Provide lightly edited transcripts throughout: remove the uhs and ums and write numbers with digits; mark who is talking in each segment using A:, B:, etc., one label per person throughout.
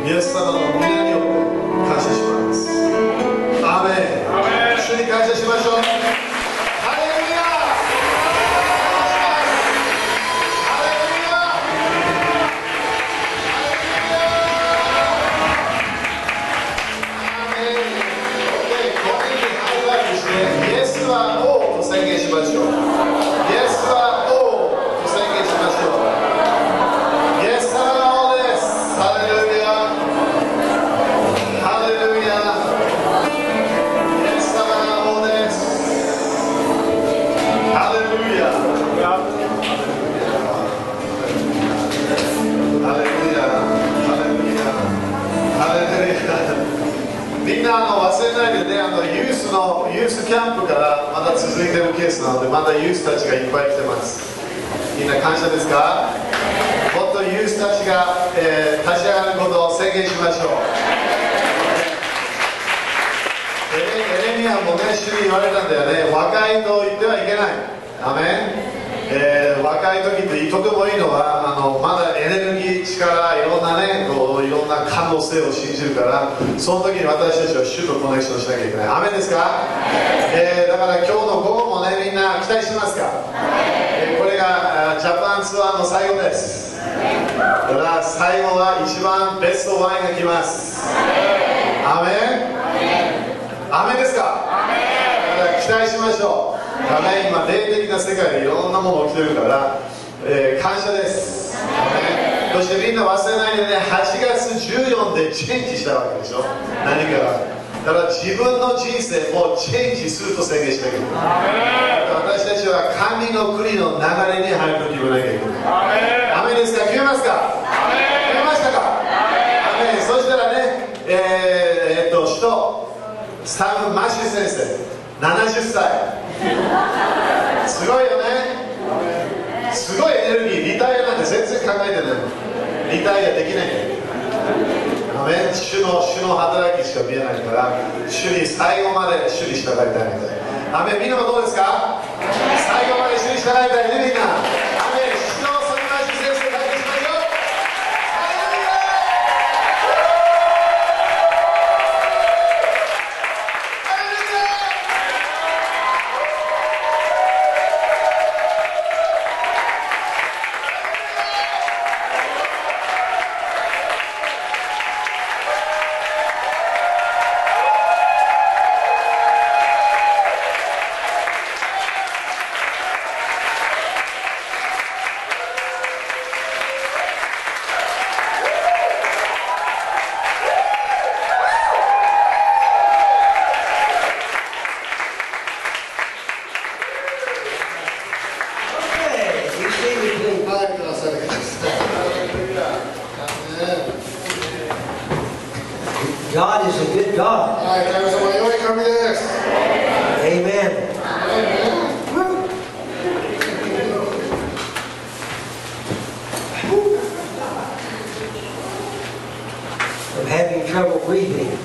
A: イエス様の皆によって感謝します。アーメン。主に感謝しましょう。ハレルヤ。ハレルヤ。アーメン。これにハイライトして、イエスは王と宣言しましょう。イエスは王と宣言しましょう。イエス様が王です。ハレルヤ。ハレルヤ。イエス様が王です。ハレルヤ。ハレルヤ。ハレルヤ。ハレルヤ。みんな忘れないでね、ユースキャンプからまだ続いているケースなので、まだユースたちがいっぱい来てます。みんな感謝ですか？もっとユースたちが、立ち上がることを宣言しましょう。エレミアもね、主に言われたんだよね。若いと言ってはいけない。アメン。若い時ってとてもいいのはまだエネルギー、力、いろんなね、いろんな可能性を信じるから、その時に私たちは主とコネクションしなきゃいけない。アメンですか？だから今日の午後もね、みんな期待しますか？これがジャパンツアーの最後です。だから最後は一番ベストワインが来ます。アメン。アメンですか？だから期待しましょう。今霊的な世界でいろんなもの起きてるから、感謝です。そしてみんな忘れないでね、8月14でチェンジしたわけでしょ。何かだから自分の人生をチェンジすると宣言しなきゃいけない。私たちは神の国の流れに入ると決めなきゃいけない。アメンですか？決めますか？決めましたか？アメン。そしたらね、使徒スタム・マシー先生70歳すごいよね。すごいエネルギー。リタイアなんて全然考えてないの。リタイアできないんだよ。アメン。主の働きしか見えないから、主に最後まで主に従いたいみたい。アメン。みんなもどうですか？最後まで主に従いたいね、みんな。アメン。主のそのマシー先生体験しましょう。
B: God is a good God. Amen. I'm having trouble breathing.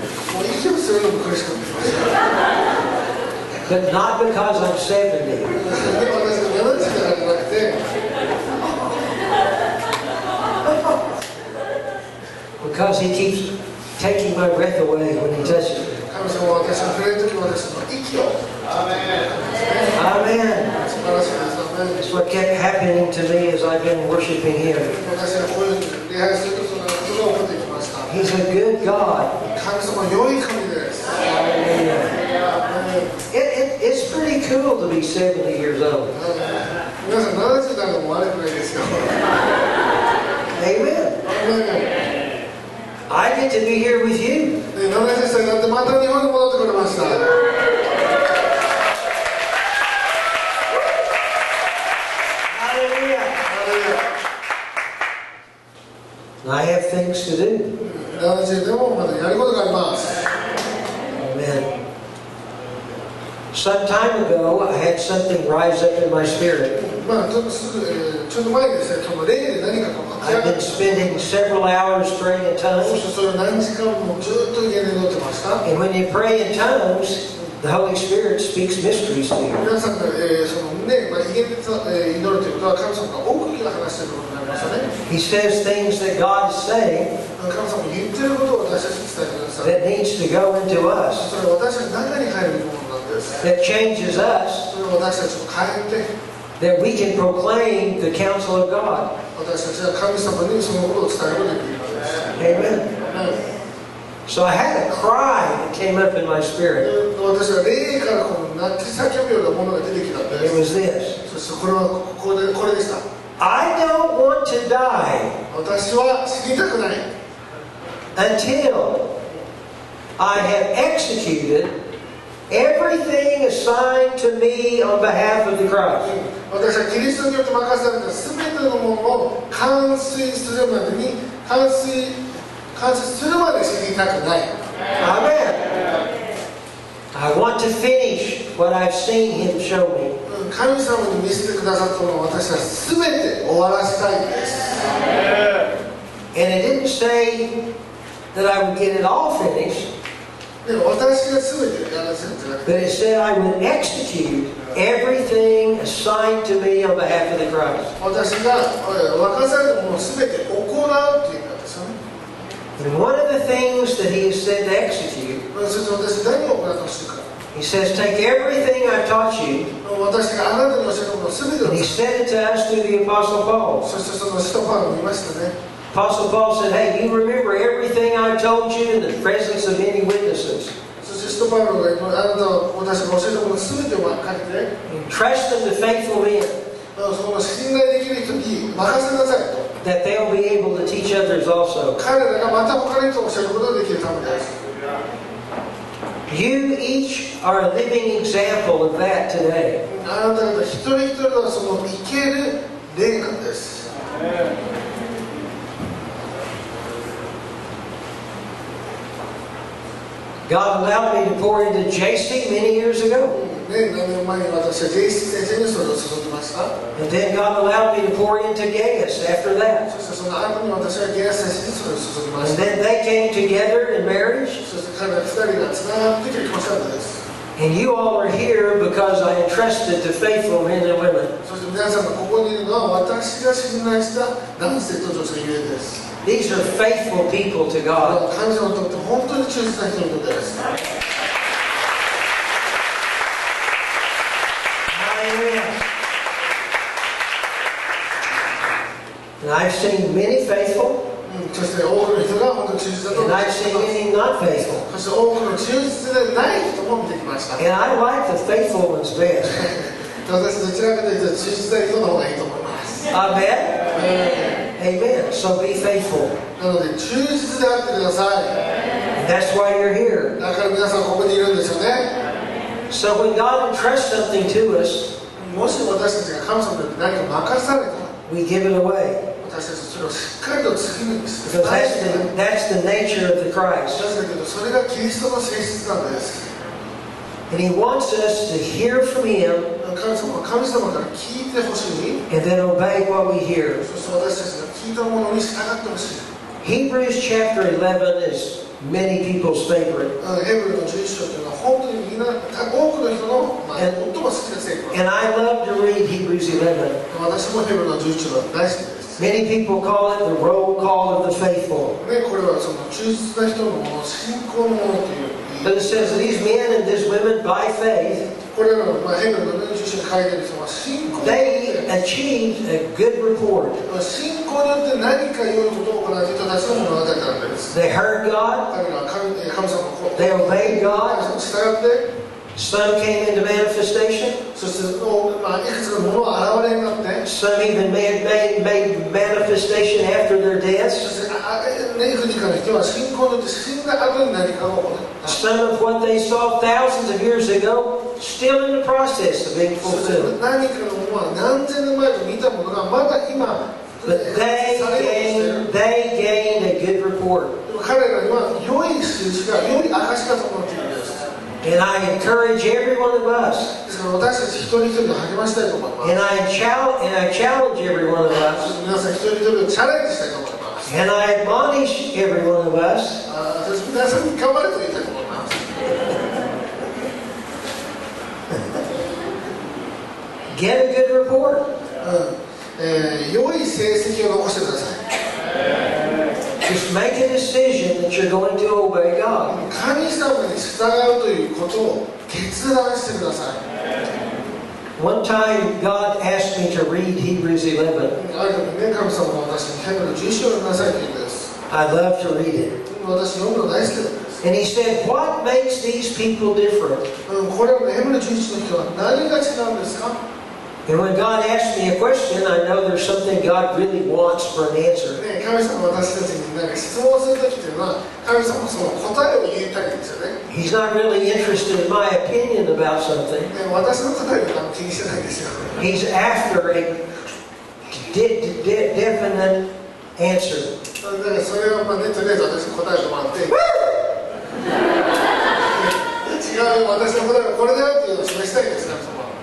B: But not because I'm 70. Because he keeps taking my breath away when he touches me. Amen. That's what kept happening to me as I've been worshiping him. He's a good God. It's pretty cool to be 70 years old. Amen. I get to be here with you. Hallelujah. I have things to do. Amen. Some time ago, I had something rise up in my spirit. I've been spending several hours praying in tongues. And when you pray in tongues, the Holy Spirit speaks mysteries to you.
C: ましたね。
B: He says things that God is saying
C: 神様が言ってることを私たちに伝えてください。
B: that needs to go into us,
C: それは私たちの中に入るものなんです。
B: that changes us,
C: それは私たちを変えて、
B: that we can proclaim the counsel of God.
C: 私たちは神様にそのことを伝えることができるのです。
B: Amen. So I had a cry that came up in my spirit.
C: 私は霊からこの泣き叫ぶようなものが出てきたんで
B: It
C: す。
B: was this.
C: そしてこれはこれでした。
B: I don't want to die
C: 私は死にたくない。
B: until I have executed everything assigned to me on behalf of the Christ.
C: 私はキリストによって任された全てのものを完遂するまでに完遂するまで死にたくない。
B: Amen. I want to finish what I've seen Him show me.
C: 神様に見せてくださったものを私は全て終わらせたいんです。
B: And it didn't say that I would get it all finished,
C: でも私が全てやらせるんじゃなくて、
B: but it said I would execute everything assigned to me on behalf of the Christ.
C: 私が任されたものを全て行うっていう意味なんですよね。
B: And one of the things that He has said to execute,
C: そして私何を行ってほしいか。
B: He says, take everything I've taught you,
C: 私があなたに教えたものを全てを
B: and He said it to us through the Apostle Paul.
C: そしてその使徒パウロも言いましたね。
B: Apostle Paul said, hey, you remember everything I told you in the presence of many witnesses.
C: そして使徒パウロがあなたは私が教えたもの全てを書いて、
B: Entrust them to faithful men,
C: その信頼できる人に任せなさいと。
B: that they'll be able to teach others also.
C: 彼らがまた他の人を教えることができるためです。
B: You each are a living example of that today.
C: あなた方一人一人はその生ける霊感です。
B: God allowed me to pour into JC many years ago.
C: ね、何年前に私は JC 先生にそれを注ぎました。
B: And then God allowed me to pour into Gaius after that.
C: そしてその後に私はゲア先生にそれを注ぎま
B: And
C: した。
B: then they came together in marriage.
C: そして彼ら二人がつながって結婚したんです。
B: And you all are here because I entrusted to faithful men and women.
C: そして皆さんがここにいるのは私が信頼した男性と女性ゆえです。
B: These are faithful people to God.
C: 神様にとって本当に忠実な人にとってです。
B: Hallelujah. And I've seen many faithful,
C: そして多くの人が本当に忠実だと
B: and
C: 思いま
B: I've
C: す。
B: seen many not faithful.
C: そして多くの忠実でない人も見てきました。
B: And I like the faithful ones best.
C: 私どちらかというと忠実な人の方がいいと思います。
B: Amen? Amen. So be faithful.
C: なので忠実であってください。
B: And that's why you're here.
C: だから皆さんここにいるんですよね。
B: So when God entrusts something to us,
C: もし私たちが神様によって何か任されたら、
B: we give it away.
C: 私たちそれをしっかりと次にして
B: Because that's the nature of the Christ.
C: なぜかというとそれがキリストの性質なんです。
B: And He wants us to hear from Him
C: 神様は神様から聞いてほしい。
B: and then obey what we hear.
C: そして私たちが聞いたものに従ってほしい。
B: Hebrews chapter 11 is many people's favorite.
C: ヘブルの11章というのは本当にみんな多くの人の、最も好きな聖句。
B: And I love to read Hebrews 11.
C: 私もヘブルの11章が大好きです。
B: Many people call it the roll call of the faithful.
C: ね、これはその忠実な人のもの、信仰のものという。
B: But it says these men and these women, by faith,
C: これらの、ヘブルの11章に書いてある人は信仰によ
B: they
C: って
B: achieved a good report.
C: 信仰によって何か良いことを行う人たちの物語なんです。
B: They heard God,
C: 彼らは神様のこと
B: they obeyed
C: 神
B: God,
C: 様に従って、
B: some came into manifestation,
C: そしていくつかのものが現れになって、
B: some even made manifestation after their
C: そ
B: deaths.
C: していくつかの人は信仰によって死んだ後に何かが起こる。
B: Some of what they saw thousands of years ago, still in the process of being
C: そして
B: fulfilled.
C: 何かのものは何千年前と見たものがまだ今
B: But
C: されようとしている。
B: they gained a good report.
C: でも彼らには良い印が良い証が伴っているんです。
B: And I encourage every one of us,
C: ですから私たち一人一人で励ましたいと思います。
B: and I challenge every one of us,
C: 皆さん一人一人をチャレンジしたいと思います。
B: and I admonish every one of us
C: 私皆さんに頑張れと言いたいと思います。
B: get a good report.
C: 良い成績を残してください。
B: Just make a decision that you're going to obey God.
C: 神様に従うということを決断してください。
B: One time, God asked me to read Hebrews 11.
C: ある時ね、神様が私にヘブル11章を読みなさいと言うんです。
B: I love to read it.
C: 私読むの大好きなんです。
B: And he said, what makes these people different?
C: これはヘブル11の人は何が違うんですか？
B: And when God asks me a question, I know there's something God really wants for an answer.
C: ね、神様は私たちに何か質問するときというのは、神様はその答えを言いたいんですよね。
B: He's not really interested in my opinion about something.
C: ね、私の答えを気にしてないんですよ。
B: He's after a definite answer.
C: だからそれをね、とりあえず私に答えてもらって、違う、私の答えはこれだよっていうのを示したいんです、神様は。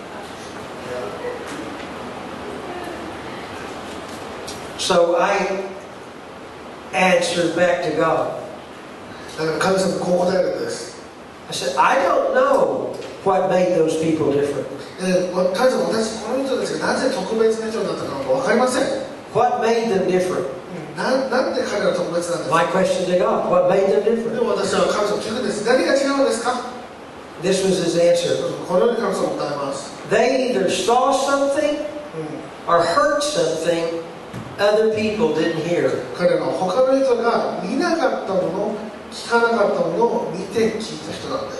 B: So I answered back to God.
C: だから神様こう答えるんです。
B: I said, I don't know what made those people different.
C: 神様、私この人たちがなぜ特別な人になったのか分かりません。
B: What made them different?
C: なんで彼らは特別なんですか？
B: My question to God, what made them
C: で
B: different?
C: も私は神様聞くんです。何が違うんですか？
B: This was his answer.
C: このように神様答えます。
B: They either saw something or heard something other people didn't hear.
C: 彼らは他の人が見なかったもの、聞かなかったものを見て聞いた人なんです。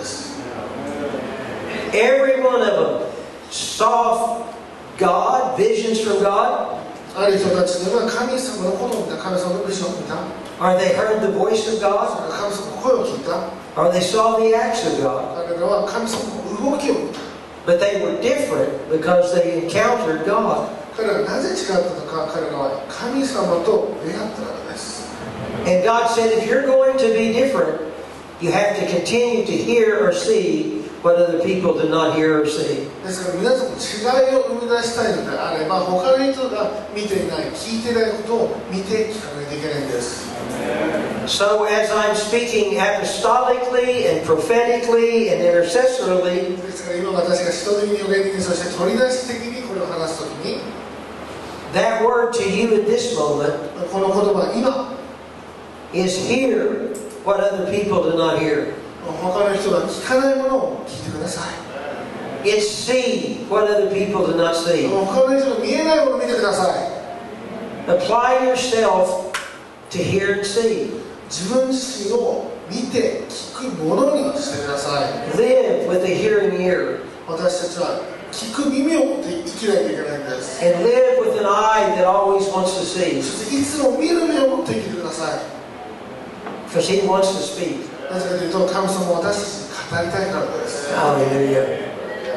B: Every one of them saw God, visions from God,
C: ある人たちには神様のことを見た、神様のビジョンを見た、
B: or they heard the voice of God,
C: 神様の声を聞いた、
B: or they saw the acts of God.
C: 彼らは神様の動きを見た。
B: But they were different because they encountered God.
C: 彼らがなぜ違ったのか、彼らは神様と出会ったからです。
B: And God said, if you're going to be different, you have to continue to hear or see what other people did not hear or see.
C: ですから皆さんも違いを生み出したいのであれば、他の人が見ていない、聞いていないことを見て聞かないといけないんです。
B: So as I'm speaking apostolically and prophetically and intercessorily,
C: ですから今私が使徒的に予言的に、そして取り出し的にこれを話すときに、
B: that word to you at this moment
C: この言葉今、
B: is hear what other people do not hear.
C: 他の人が聞かないものを聞いてください。
B: It's see what other people do not see.
C: 他の人が見えないものを見てください。
B: Apply yourself to hear and see.
C: 自分自身を見て聞くものにしてください。
B: Live with a hearing ear.
C: 私たちは聞く耳を持って生きないといけないんです。
B: And live with an eye that always wants to see.
C: そしていつも見る目を持って生きてください。
B: Because He wants to speak.
C: なぜかというと、神様は私たちに語りたいからです。
B: Hallelujah.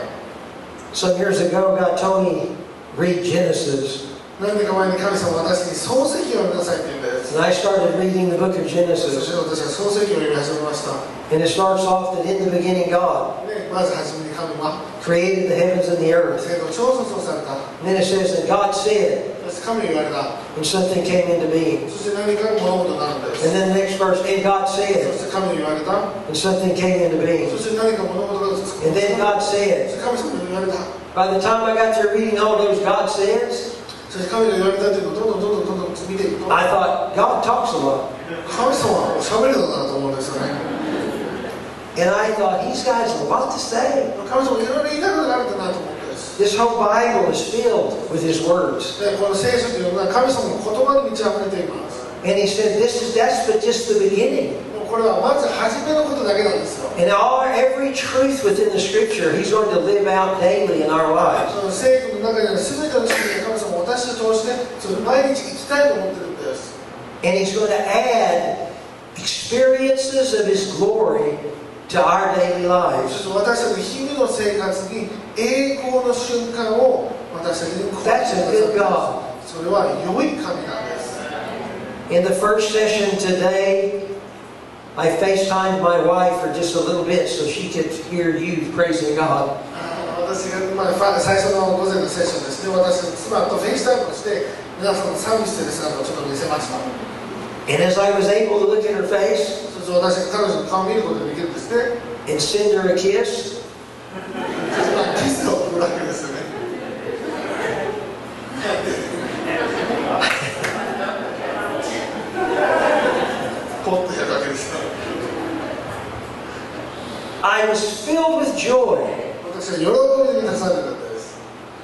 B: Some years ago, God told me, read Genesis.
C: 何年か前に神様は私に創世記を読みなさいって言うんです。
B: And I started reading the book of
C: そして
B: Genesis.
C: 私は創世記を読み始めました。
B: And it starts off that in the beginning, God
C: ね、まず初めに神は
B: created the heavens and the earth.
C: 天と地を創造された。
B: And then it says that God said,
C: そして神は言われた。
B: and something came into being.
C: そして何か物事になるんです。
B: And then the next verse, and God
C: そ
B: said,
C: して神は言われた。
B: and something came into
C: そ
B: being.
C: して何か物事が作
B: And then God
C: そ
B: said.
C: して神様が言われた。
B: By the time I got through reading all those God says,
C: そして神が言われたというのをどんどん見ていくと、
B: I thought, God talks a lot.
C: 神様は喋るのだなと思うんですよね。
B: And I thought, these guys have a lot to say.
C: 神様いろいろ言いたいことがあるんだなと思うんです。
B: This whole Bible is filled with His words.
C: でこの聖書というのは神様の言葉に満ち溢れています。
B: And He said, that's but just the beginning.
C: これはまず初めのことだけなんですよ。
B: And every truth within the Scripture, He's going to live out daily in our lives.
C: その聖句の中にある全ての真理が神様を私を通してそれ毎日生きたいと思ってるんです。
B: And He's going to add experiences of His glory to our daily
C: そ
B: lives.
C: して私たちの日々の生活に栄光の瞬間を私たちに加えて
B: That's a good
C: くだ
B: God.
C: さい。それは良い神なんです。
B: In the first session today, I FaceTimed my wife for just a little bit so she could hear you praising God.
C: 私が、最初の午前のセッションですね、私の妻とフェイスタイムをして皆さんのサービスしている姿をちょっと見せました。
B: And as I was able to look at her face
C: そして私が彼女の顔を見ることができるんですね。
B: and send her a kiss,
C: キスを送るわけですよね。 ポッとやるわけですね。
B: I was filled with joy
C: 私は喜びに満たされたんです。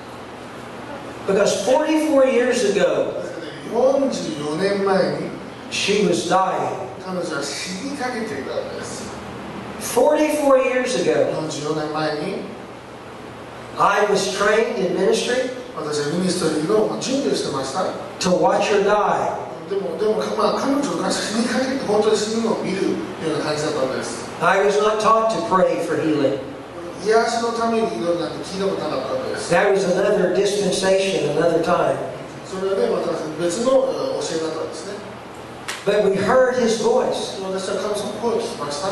B: because 44 years ago
C: ですからね、44年前に
B: she was dying.
C: 彼女は死にかけていたんです。
B: 44 years ago
C: 44年前に
B: I was trained in ministry
C: 私はミニストリーの準備をしてました。
B: to watch her die.
C: でもまあ、彼女が死にかけて本当に死ぬのを見るような感じだったんです。
B: I was not taught to pray for healing.
C: 癒しのために祈るなんて聞いたことなかったんです。
B: That was another dispensation, another time.
C: それはね、また別の教えだったんですね。
B: But we heard his voice.
C: 私は神様の声を聞きました。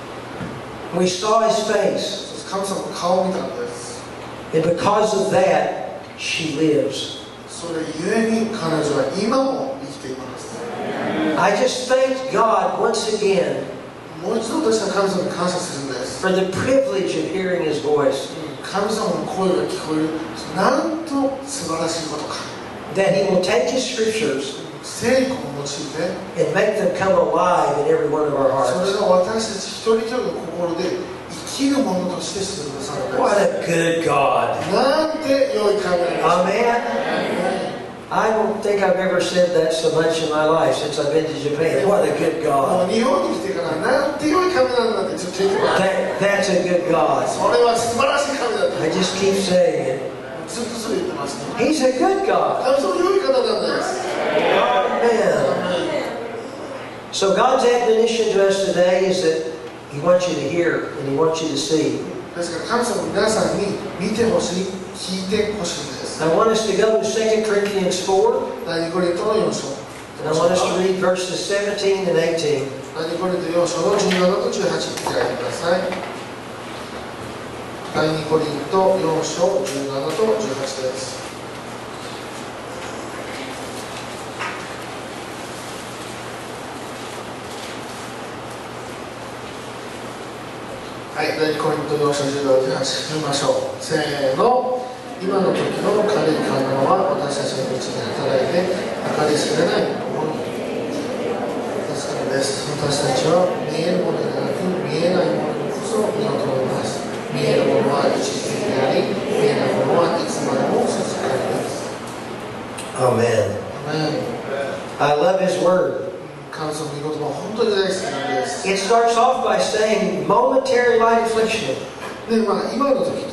B: We saw his face.
C: そして神様の顔を見たんです。
B: And because of that, she lives.
C: それゆえに彼女は今も生きています。
B: I just thanked God once again
C: もう一度私は神様に感謝するんです。
B: for the privilege of hearing his voice.
C: 神様の声が聞こえる。なんと素晴らしいことか。
B: That he will take his scriptures
C: 聖句を用いて、
B: and make them come alive in every one of our
C: それ
B: hearts.
C: が私たち一人一人の心で生きるものとしてしてくださるんです。
B: What a good God.
C: なんて良い神なんです。
B: Amen. I don't think I've ever said that so much in my life since I've been to Japan. What a good
C: もう
B: God.
C: 日本に来てからなんて良い神なんだってずっと言ってます。
B: That's a good God.
C: それは素晴らしい神だって
B: I just keep saying it.
C: ずっとそれ言ってますね。
B: He's a good God.
C: 神様良い方なんです。
B: Amen. So God's admonition to us today is that He wants you to hear and He wants you to see.
C: ですから神様皆さんに見てほしい、聞いてほしいんです。
B: I want us to go to 2 Corinthians 4,
C: 第2コリントの4章。
B: and I want us to read verses 17 and 18.
C: 第2コリント4章の17と18開いてください。第2コリント4章17と18です。はい、第2コリント4章17と18見ましょう。せーの。今の時の軽い観音は私たちのうちに働いて計り知れないものですからです。私たちは見えるものではなく見えないものにこそ身を留めます。見えるものは一時的であり、見えないものはいつまでも続くからです。
B: Amen.
C: アメン。
B: I love His Word.
C: 神様の御言葉本当に大好きなんです。
B: It starts off by saying momentary light affliction
C: で、今の時と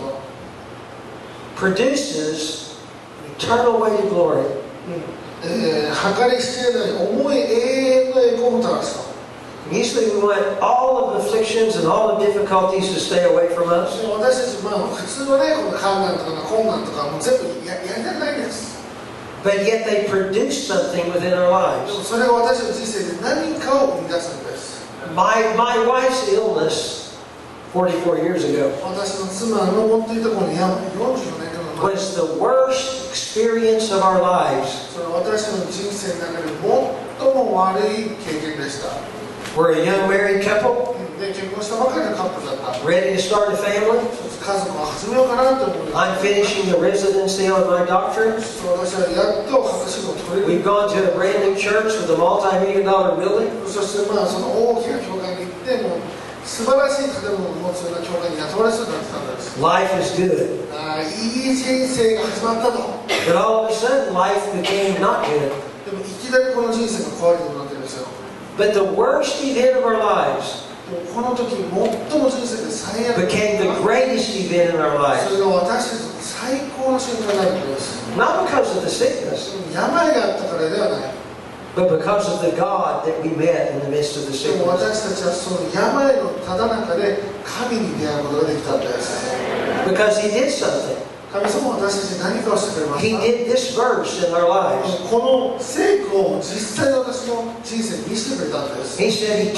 B: produces eternal weighted glory.
C: 計り知れない重い永遠の栄光をもたらすと。
B: Usually we want all of the afflictions and all the difficulties to stay away from us.
C: 私たち、普通はね、この困難とか困難とかもう全部やりたくないんです。
B: But yet they produce something within our
C: でも
B: lives.
C: それが私の人生で何かを生み出すんです。
B: My wife's illness 44 years ago
C: 私の妻の持っていたこの病、44年間の前、
B: was the worst experience of our lives.
C: それは私の人生の中で最も悪い経験でした。
B: We're a young married couple,
C: で、結婚したばかりのカップルだった。
B: ready to start a family.
C: 家族を始めようかなと思いま
B: I'm finishing the residency on my doctorate.
C: す。私はやっと博士号を取れる。
B: We've gone to a brand new church with a multi-million-dollar building.
C: そしてその大きな教会に行っても素晴らしい建物を持つような教会に雇われそうになってたんです。
B: Life is good.
C: いい人生が始まったと。
B: But all of a sudden, life became not good.
C: でもいきなりこの人生が壊れてくるわけですよ。
B: But the worst event of our lives
C: もうこの時最も人生で最悪
B: became the greatest event in our
C: そ
B: lives.
C: れが私たちの最高の瞬間になるんです。
B: Not because of the sickness,
C: 病があったからではない。
B: but because of the God that we met in the midst of the
C: でも
B: sickness.
C: 私たちはその病のただ中で神に出会うことができたんです。
B: Because He did something.
C: 神様は私たちに何かをしてくれまし
B: He
C: た。
B: did this verse in our lives.
C: この聖句を実際に私の人生に見せてくれたんです。
B: He said,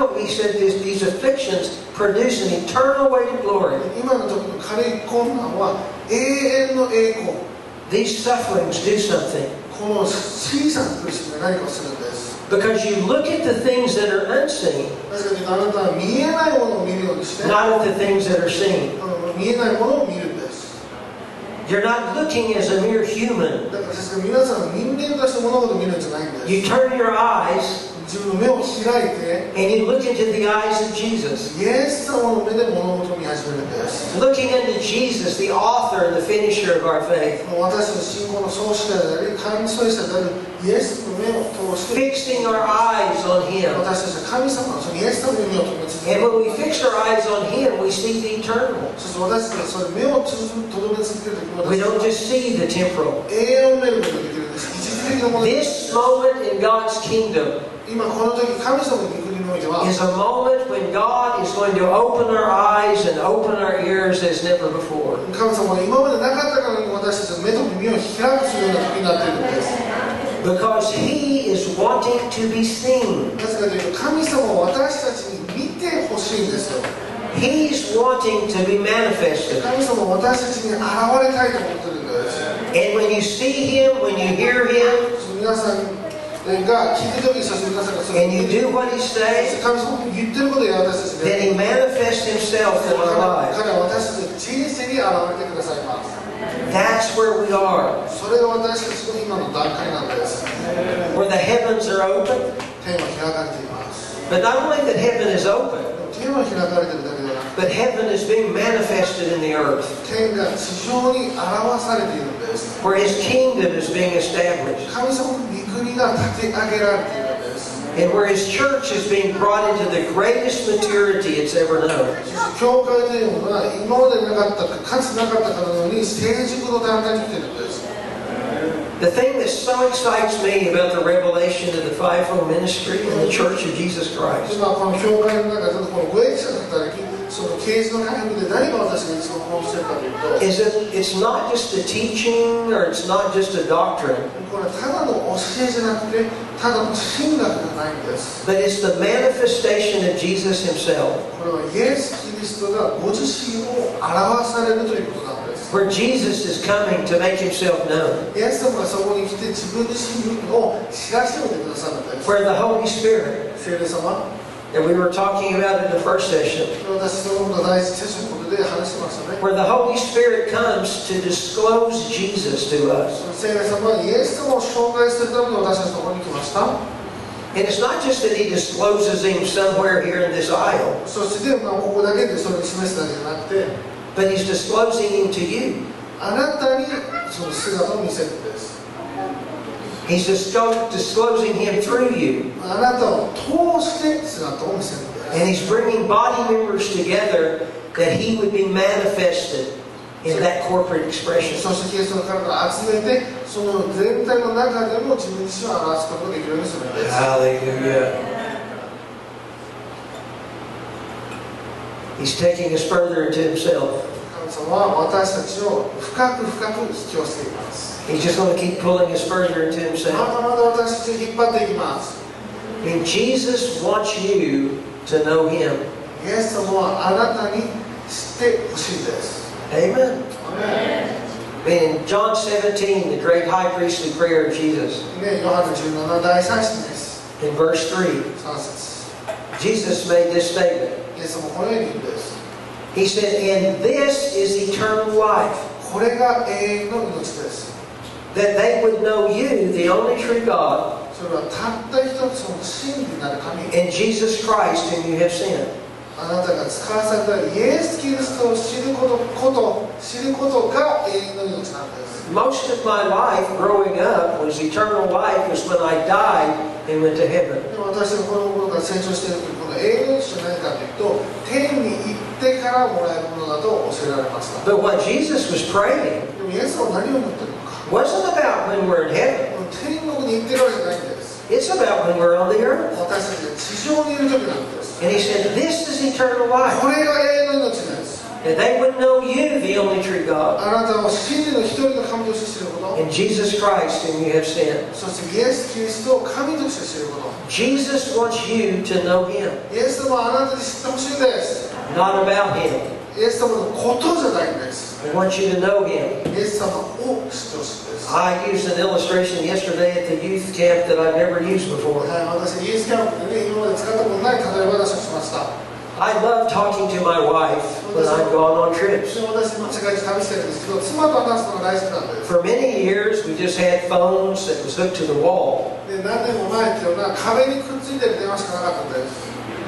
B: these afflictions produce an eternal weighted glory.
C: 今の時の軽い困難は永遠の栄光。
B: These sufferings do something.
C: この小さな苦しみが何かをするんです。
B: Because you look at the things that are unseen,
C: 確かにあなたは見えないものを見るようにして、
B: not at the things that are seen.
C: 見えないものを見るんです。
B: You're not looking as a mere human.
C: だからですから皆さんは人間として物事を見るんじゃないんです。
B: You turn your eyes
C: 自分のの目を開いて
B: and you look into the eyes of Jesus.
C: イエス様の目で物事を見始めるんです。
B: Looking into Jesus, the author and the finisher of our faith.
C: 私たちの信仰の創始者であり神創始者であるイエスの目を通して
B: Fixing our eyes on Him.
C: 私たちは神様のそのイエス様の目を留め続け
B: And
C: る。
B: when we fix our eyes on Him, we see the eternal.
C: そして私たちがその目を留め続けるとき
B: We
C: 私
B: don't
C: たち
B: just see the temporal.
C: は永遠を見ることができるんです。一時的なものです。
B: This moment in God's kingdom
C: 今この時神様の御国においては
B: is a moment when God is going to open our eyes and open our ears as never before.
C: 神様が今までなかったからに私たちの目と耳を開くというような時になっているんです。
B: Because He is wanting to be seen.
C: なぜかというと神様は私たちに見てほしいんですよ。
B: He's wanting to be manifested.
C: 神様は私たちに現れたいと思っているんです。
B: And when you see Him, when you hear Him,
C: 皆さんが聞くときにそして皆さんがそれを
B: and you do what He says,
C: 神様が言ってることを私たち
B: then
C: で
B: He manifests Himself in our lives.
C: 彼は私たちの人生に現れてくださいます。
B: That's where we are.
C: それが私たちの今の段階なんです。
B: Where the heavens are open.
C: 天は開かれています。
B: But not only that heaven is open,
C: 天は開かれているだけではなく
B: but heaven is being manifested in the earth.
C: 天が地上に表されているんです。
B: Where His kingdom is being established.
C: 神様の御国が立て上げられているんです。
B: And where His church is being brought into the greatest maturity it's ever known.
C: 教会というのは今までなかったかつなかったかのように成熟の段階に来ているんです。
B: The thing that so excites me about the revelation of the fivefold ministry in the Church of Jesus Christ
C: 今この教会の中でこのご益者の働き、その啓示の回復で何が私が一番興奮しているかというと、
B: is that it's not just a teaching or it's not just a doctrine,
C: これはただの教えじゃなくて、ただの神学じゃないんです。
B: but it's the manifestation of Jesus Himself.
C: これはイエス・キリストがご自身を表されるということなんです。
B: Where Jesus is coming to make Himself known.
C: イエス様がそこに来て自分自身を知らせておいてくださるんです。
B: Where the Holy Spirit,
C: 聖霊様、
B: that we were talking about in the first session,
C: 私そのこと第一セッションのことで話してましたね。
B: where the Holy Spirit comes to disclose Jesus to us.
C: 聖霊様はイエス様を紹介するために私たちのところに来ました。
B: And it's not just that He discloses Him somewhere here in this aisle,
C: そして、ここだけでそれを示すだけじゃなくて、
B: but He's disclosing Him to you.
C: あなたにその姿を見せるんです。
B: He's disclosing Him through you.
C: あなたを通して姿を見せるんです。
B: And He's bringing body members together that He would be manifested in that corporate expression.
C: そしてキリストの体を集めて、その全体の中でも自分自身を表すことができるようにするんです。
B: Hallelujah. He's taking us further into Himself.
C: 神様は私たちを深く深く引き寄せています。
B: He's just going to keep pulling us further into
C: ま
B: Himself.
C: だまだ私たちを引っ張っていきます。
B: And Jesus wants you to know Him.
C: イエス様はあなたに知ってほしいです。
B: Amen.
C: アメン。
B: In John 17, the great high priestly prayer of Jesus,
C: ね、ヨハネ17第3節です。
B: in verse 3,
C: 3節。
B: Jesus made this statement.
C: イエス様はこのように言うんです。
B: He said, "And this is eternal life,
C: これが永遠の命です。
B: that they would know you, the only true God,
C: それはたった一つの真理なる神、
B: and Jesus Christ whom you have sent."
C: あなたが使わされたイエス・キリストを知ることが永遠の命なんです。
B: Most of my life growing up was eternal life was when I died and went to heaven.
C: でも私がこの頃から成長しているとき、この永遠の命じゃないかというと、天に行ってからもらえるものだと教えられました。
B: But what Jesus was praying
C: でもイエスは何を思っているのか。
B: wasn't about when we're in heaven.
C: 天国に行ってるわけじゃないんです。
B: It's about when we're on the earth.
C: 私たちが地上にいる時なんです。
B: And He said, "This is eternal life,
C: これが永遠の命です。
B: that they would know you, the only true God,
C: あなたを真理の一人の神として知ること、
B: and Jesus Christ whom you have sent."
C: そしてイエス・キリストを神として知ること。
B: Jesus wants you to know Him,
C: イエス様はあなたに知ってほしいんです。
B: not about Him.
C: イエス様のことじゃないんです。
B: He wants you to know Him.
C: イエス様を知ってほしいんです。
B: I used an illustration yesterday at the youth camp that I've never used before.
C: 私、イエスキャンプでね、今まで使ったことない例え話をしました。
B: I love talking to my wife when I've gone on trips.
C: 私、今、世界中旅してるんですけど、妻と話すのが大好きなんです。
B: For many years, we just had phones that was hooked to the wall.
C: でで何年も前っていうのは壁にくっついてる電話しかなかったんです。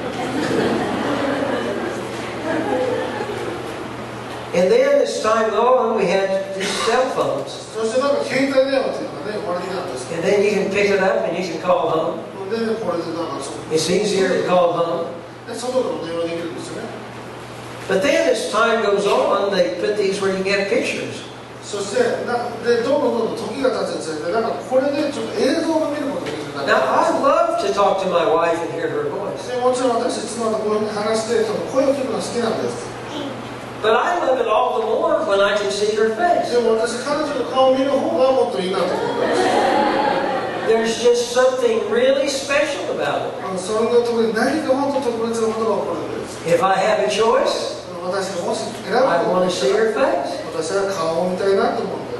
B: And then as time went on, we had these cell phones.
C: そしてなんか携帯電話っていうのがね生まれてきたんです。
B: And then you can pick it up and you can call home.
C: でこれでなんかそう
B: It's easier to call home.
C: で外でも電話できるんですよね。
B: But then as time goes on, they put these where you can get pictures.
C: そしてでどんどん時が経つにつれてなんかこれでちょっと映像が見ることができるようにな
B: Now,
C: って
B: I love to talk to my wife and hear her voice.
C: でもちろん私妻とこういうふうに話してその声を聞くのが好きなんです。
B: But I love it all the more when I can see her face.
C: でも私彼女の顔を見る方がもっといいなと思うんです。
B: There's just something really special about it.
C: それが特に何か本当特別なことが起こるんです。
B: If I have a choice,
C: 私がもし選ぶ
B: I
C: と
B: want to see her face.
C: 私は顔を見たいなと思うんです。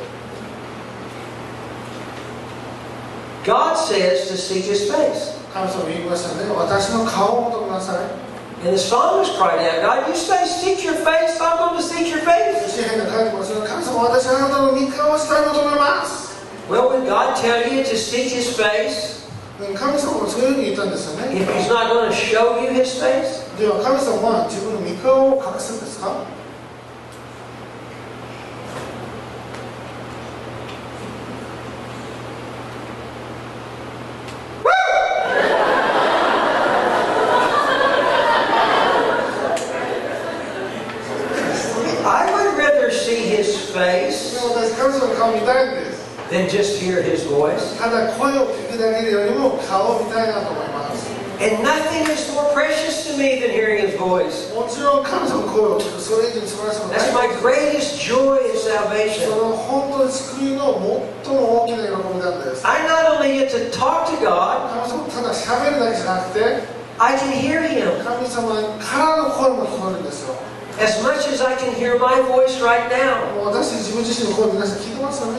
B: God says to seek His face.
C: 神様言いましたね。私の顔を求めなさい。
B: And the psalmist cried out, God, you say seek your face, I'm going to seek your face.
C: 詩篇が書いてますが、神様私はあなたの御顔をしたい求めます。
B: Well, would God tell you to seek His face
C: 神様もそういうふうに言ったんですよね。
B: if He's not going to show you His face?
C: では神様は自分の御顔を隠すんですか？
B: I would rather see His face
C: でも私神様の顔を見たいんです。
B: than just hear His voice.
C: ただ声を聞くだけよりも顔を見たいなと思います。
B: And nothing is more precious to me than hearing His voice.
C: もちろん神様の声を聞く、それ以上に素晴らしいものは
B: That's
C: ない
B: my greatest joy in
C: そ
B: salvation.
C: の本当に救いの最も大きな喜びなんです。
B: I not only get to talk to God,
C: 神様ただ喋るだけじゃなくて、
B: I can hear Him
C: 神様からの声も聞こえるんですよ。
B: as much as I can hear my voice right now.
C: もう私自分自身の声皆さん聞いてますよね。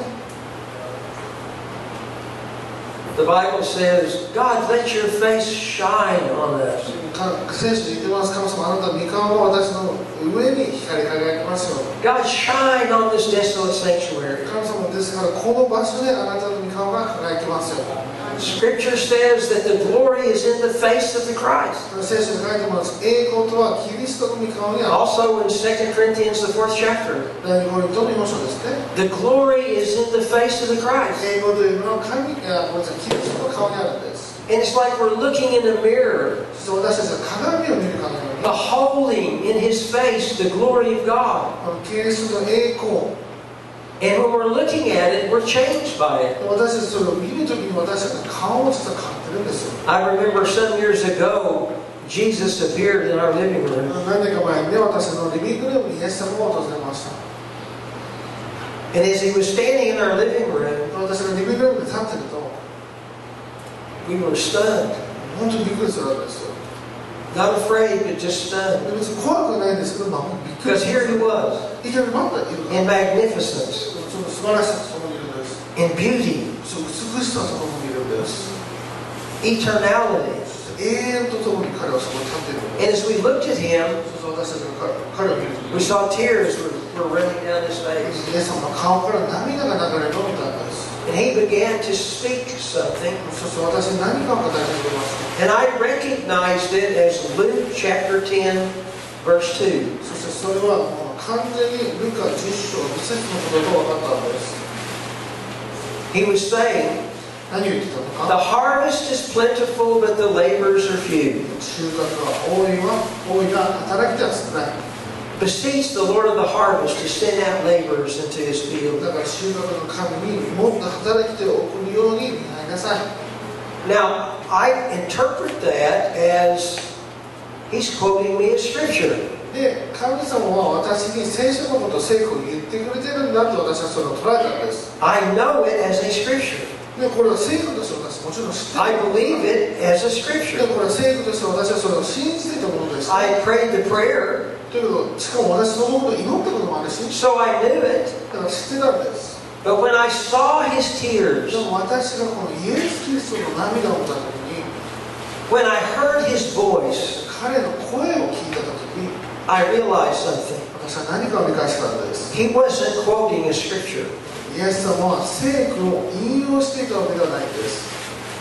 B: The Bible says, God, let your face shine on us.
C: 聖書に言ってます。神様あなたの御顔を私の上に光り輝きますよ。
B: God, shine on this desolate sanctuary.
C: 神様ですからこの場所であなたの御顔が輝きますよ。
B: Scripture says that the glory is in the face of the Christ.
C: 聖書に書いてます。栄光とはキリストの御顔にある。
B: Also in 2 Corinthians, the 4th chapter,
C: 第2コリントの4章ですね。
B: the glory is in the face of the Christ.
C: 栄光というのは神やごめんなさいキリストの顔にあるんです。
B: And it's like we're looking in a mirror,
C: そして私たちは鏡を見るかのように
B: beholding in His face the glory of God.
C: このキリストの栄光
B: And when we're looking at it, we're changed by it.
C: 私たちそれを見るときに私たちの顔も実は変わってるんですよ。
B: I remember some years ago, Jesus appeared in our living room.
C: 何年か前にね、私のリビングルームにイエス様を訪れました。
B: And as He was standing in our living room,
C: 私がリビングルームで立ってると、
B: we were stunned.
C: 本当にびっくりするわけですよ。
B: Not afraid, but just stunned.
C: で別に怖くないんですけど、まあ、びっくり
B: Because
C: す
B: here
C: る。
B: He was,
C: いきなり待っているから
B: in magnificence,
C: その素晴らしさそこにいるんです。
B: in beauty,
C: その美しさそこにいるんです。
B: eternality.
C: 永遠とともに彼はそこに立っているん
B: And
C: です。
B: as we looked at Him,
C: そうそう私たちが彼を見るとき
B: we saw tears were running down His face.
C: イエス様の顔から涙が流れるのを見たんです。
B: And He began to speak something.
C: そして私に何かを語り始めました。
B: And I recognized it as Luke chapter 10, verse 2.
C: そしてそれはもう完全にルカ10章2節のことと分かったんです。
B: He was saying,
C: 何を言ってたの
B: the
C: か。
B: harvest is plentiful, but the laborers are few.
C: 収穫は多いが働き手は少ない。
B: Beseech the Lord of the harvest to send out laborers into His field.
C: だから収穫の神にもっと働き手を送るように願いなさい。
B: Now, I interpret that as He's quoting me a scripture.
C: で、神様は私に聖書のことを聖句を言ってくれてるんだと私はそれを捉えたんです。
B: I know it as a scripture.
C: で、これは聖句として私もちろん知って
B: I
C: る。
B: believe it as a
C: で、
B: scripture.
C: これは聖句として私はそれを信じていたものです。
B: I prayed the prayer,
C: ということ、しかも私そのことを祈ったこともあるし、
B: so I knew it.
C: だから知ってたんです。
B: But when I saw His tears,
C: でも私がこのイエス・キリストの涙を見たときに、
B: when I heard His voice,
C: 彼の声を聞いたときに、
B: I realized something.
C: 私は何かを理解したんです。
B: He wasn't quoting a scripture.
C: イエス様は聖句を引用していたわけではないんです。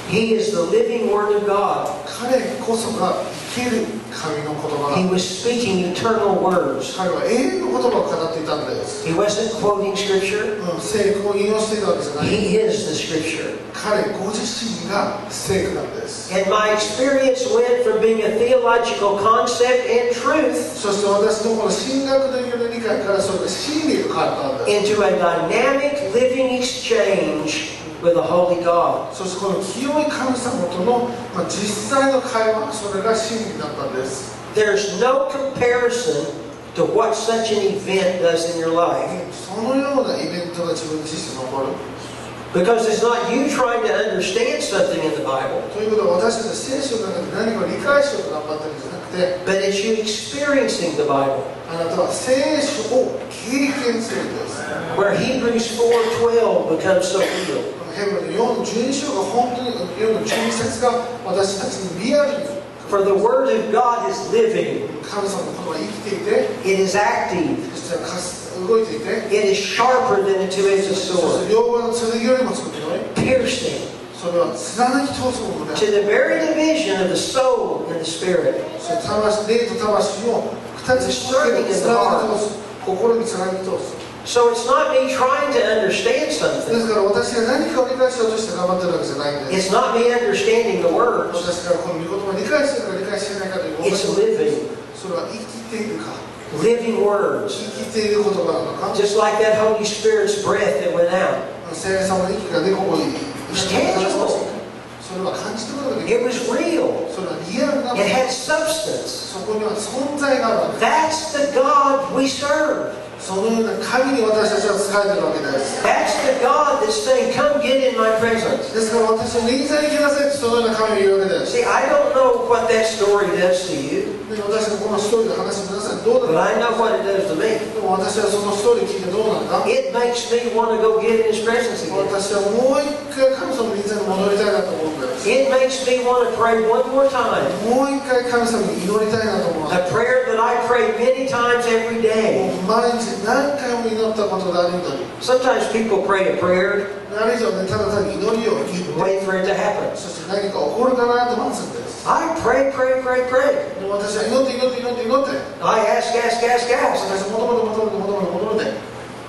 B: He is the living Word of God.
C: 彼こそが生ける神の言葉
B: He
C: なんで
B: was
C: す。
B: speaking eternal words.
C: 彼は永遠の言葉を語っていたんです。
B: He wasn't quoting Scripture.
C: 聖句を引用していたわけじゃない。
B: He is the Scripture.
C: 彼ご自身が聖句なんです。
B: And my experience went from being a theological concept and truth
C: そして私のこの神学的な理解からそれが真理が変わったんです。
B: into a dynamic living exchange with a holy God.
C: そしてこの清い神様との、実際の会話、それが真理だったんです。
B: There's no comparison to what such an event does in your life.
C: そのようなイベントが自分自身に起こる。
B: Because it's not you trying to understand something in the Bible,
C: ということは私たち聖書の中で何かを理解しようと頑張ってるんじゃなくて、
B: but it's you experiencing the Bible.
C: あなたは聖書を経験するんです。
B: Where Hebrews 4:12 becomes so real.
C: ヘブルの4の12章が本当に4の12節が私たちにリアルに
B: For the Word of God is living.
C: 神様の言葉が生きていて、
B: It is active.
C: そして動いていて、
B: It is sharper than a two-edged
C: そし
B: sword,
C: て両刃の剣よりも強くて、
B: piercing
C: それは貫き通すものであ
B: to
C: る。
B: the very division of the soul and the spirit.
C: そして魂、霊と魂を二つに分けて貫き通す。心に貫き通す。
B: So it's not me trying to understand
C: で
B: something.
C: すから私が何かを理解しようとして頑張ってるわけじゃないんです。
B: It's not me understanding the words.
C: 私からこの御言葉を理解してるか理解してないかという
B: It's living,
C: それは生きているか、
B: living words.
C: 生きている言葉なのか、
B: Just like that Holy Spirit's breath that went out.
C: 聖霊様の息が出こぼり、
B: It's tangible.
C: それは感じることができる。
B: It was real.
C: それはリアルなも
B: It
C: の。
B: had substance.
C: そこには存在があるわけ。
B: That's the God we serve.
C: そのような神に私たちは仕えているわけです。
B: That's the God that's saying, come get in my presence.
C: ですから私は右座に来なさいとそのような神がいるわけです。
B: See, I don't know what that story does to you,
C: で私がこのストーリーで話して皆さんどう
B: but
C: だ
B: I
C: ろ
B: know what it does to me.
C: う。でも私はそのストーリー聞いてどうなのか。
B: It makes me want to go get in His presence again.
C: 私はもう一回神様の右座に戻りたいなと思うんです。
B: It makes me want to pray one more time.
C: もう一回神様に祈りたいなと思う。
B: A prayer that I pray many times every
C: も
B: day.
C: う毎日何回も祈ったことがあるのに。
B: Sometimes people pray a prayer
C: ある以上ね、ただ単に祈りを言
B: and
C: って
B: wait for it to happen.
C: そして何か起こるかなと待つんです。
B: I pray, pray, pray, pray.
C: でも私は祈って祈って祈って祈って
B: I ask, ask, ask, ask.
C: 私は求めて求めて求めて求めて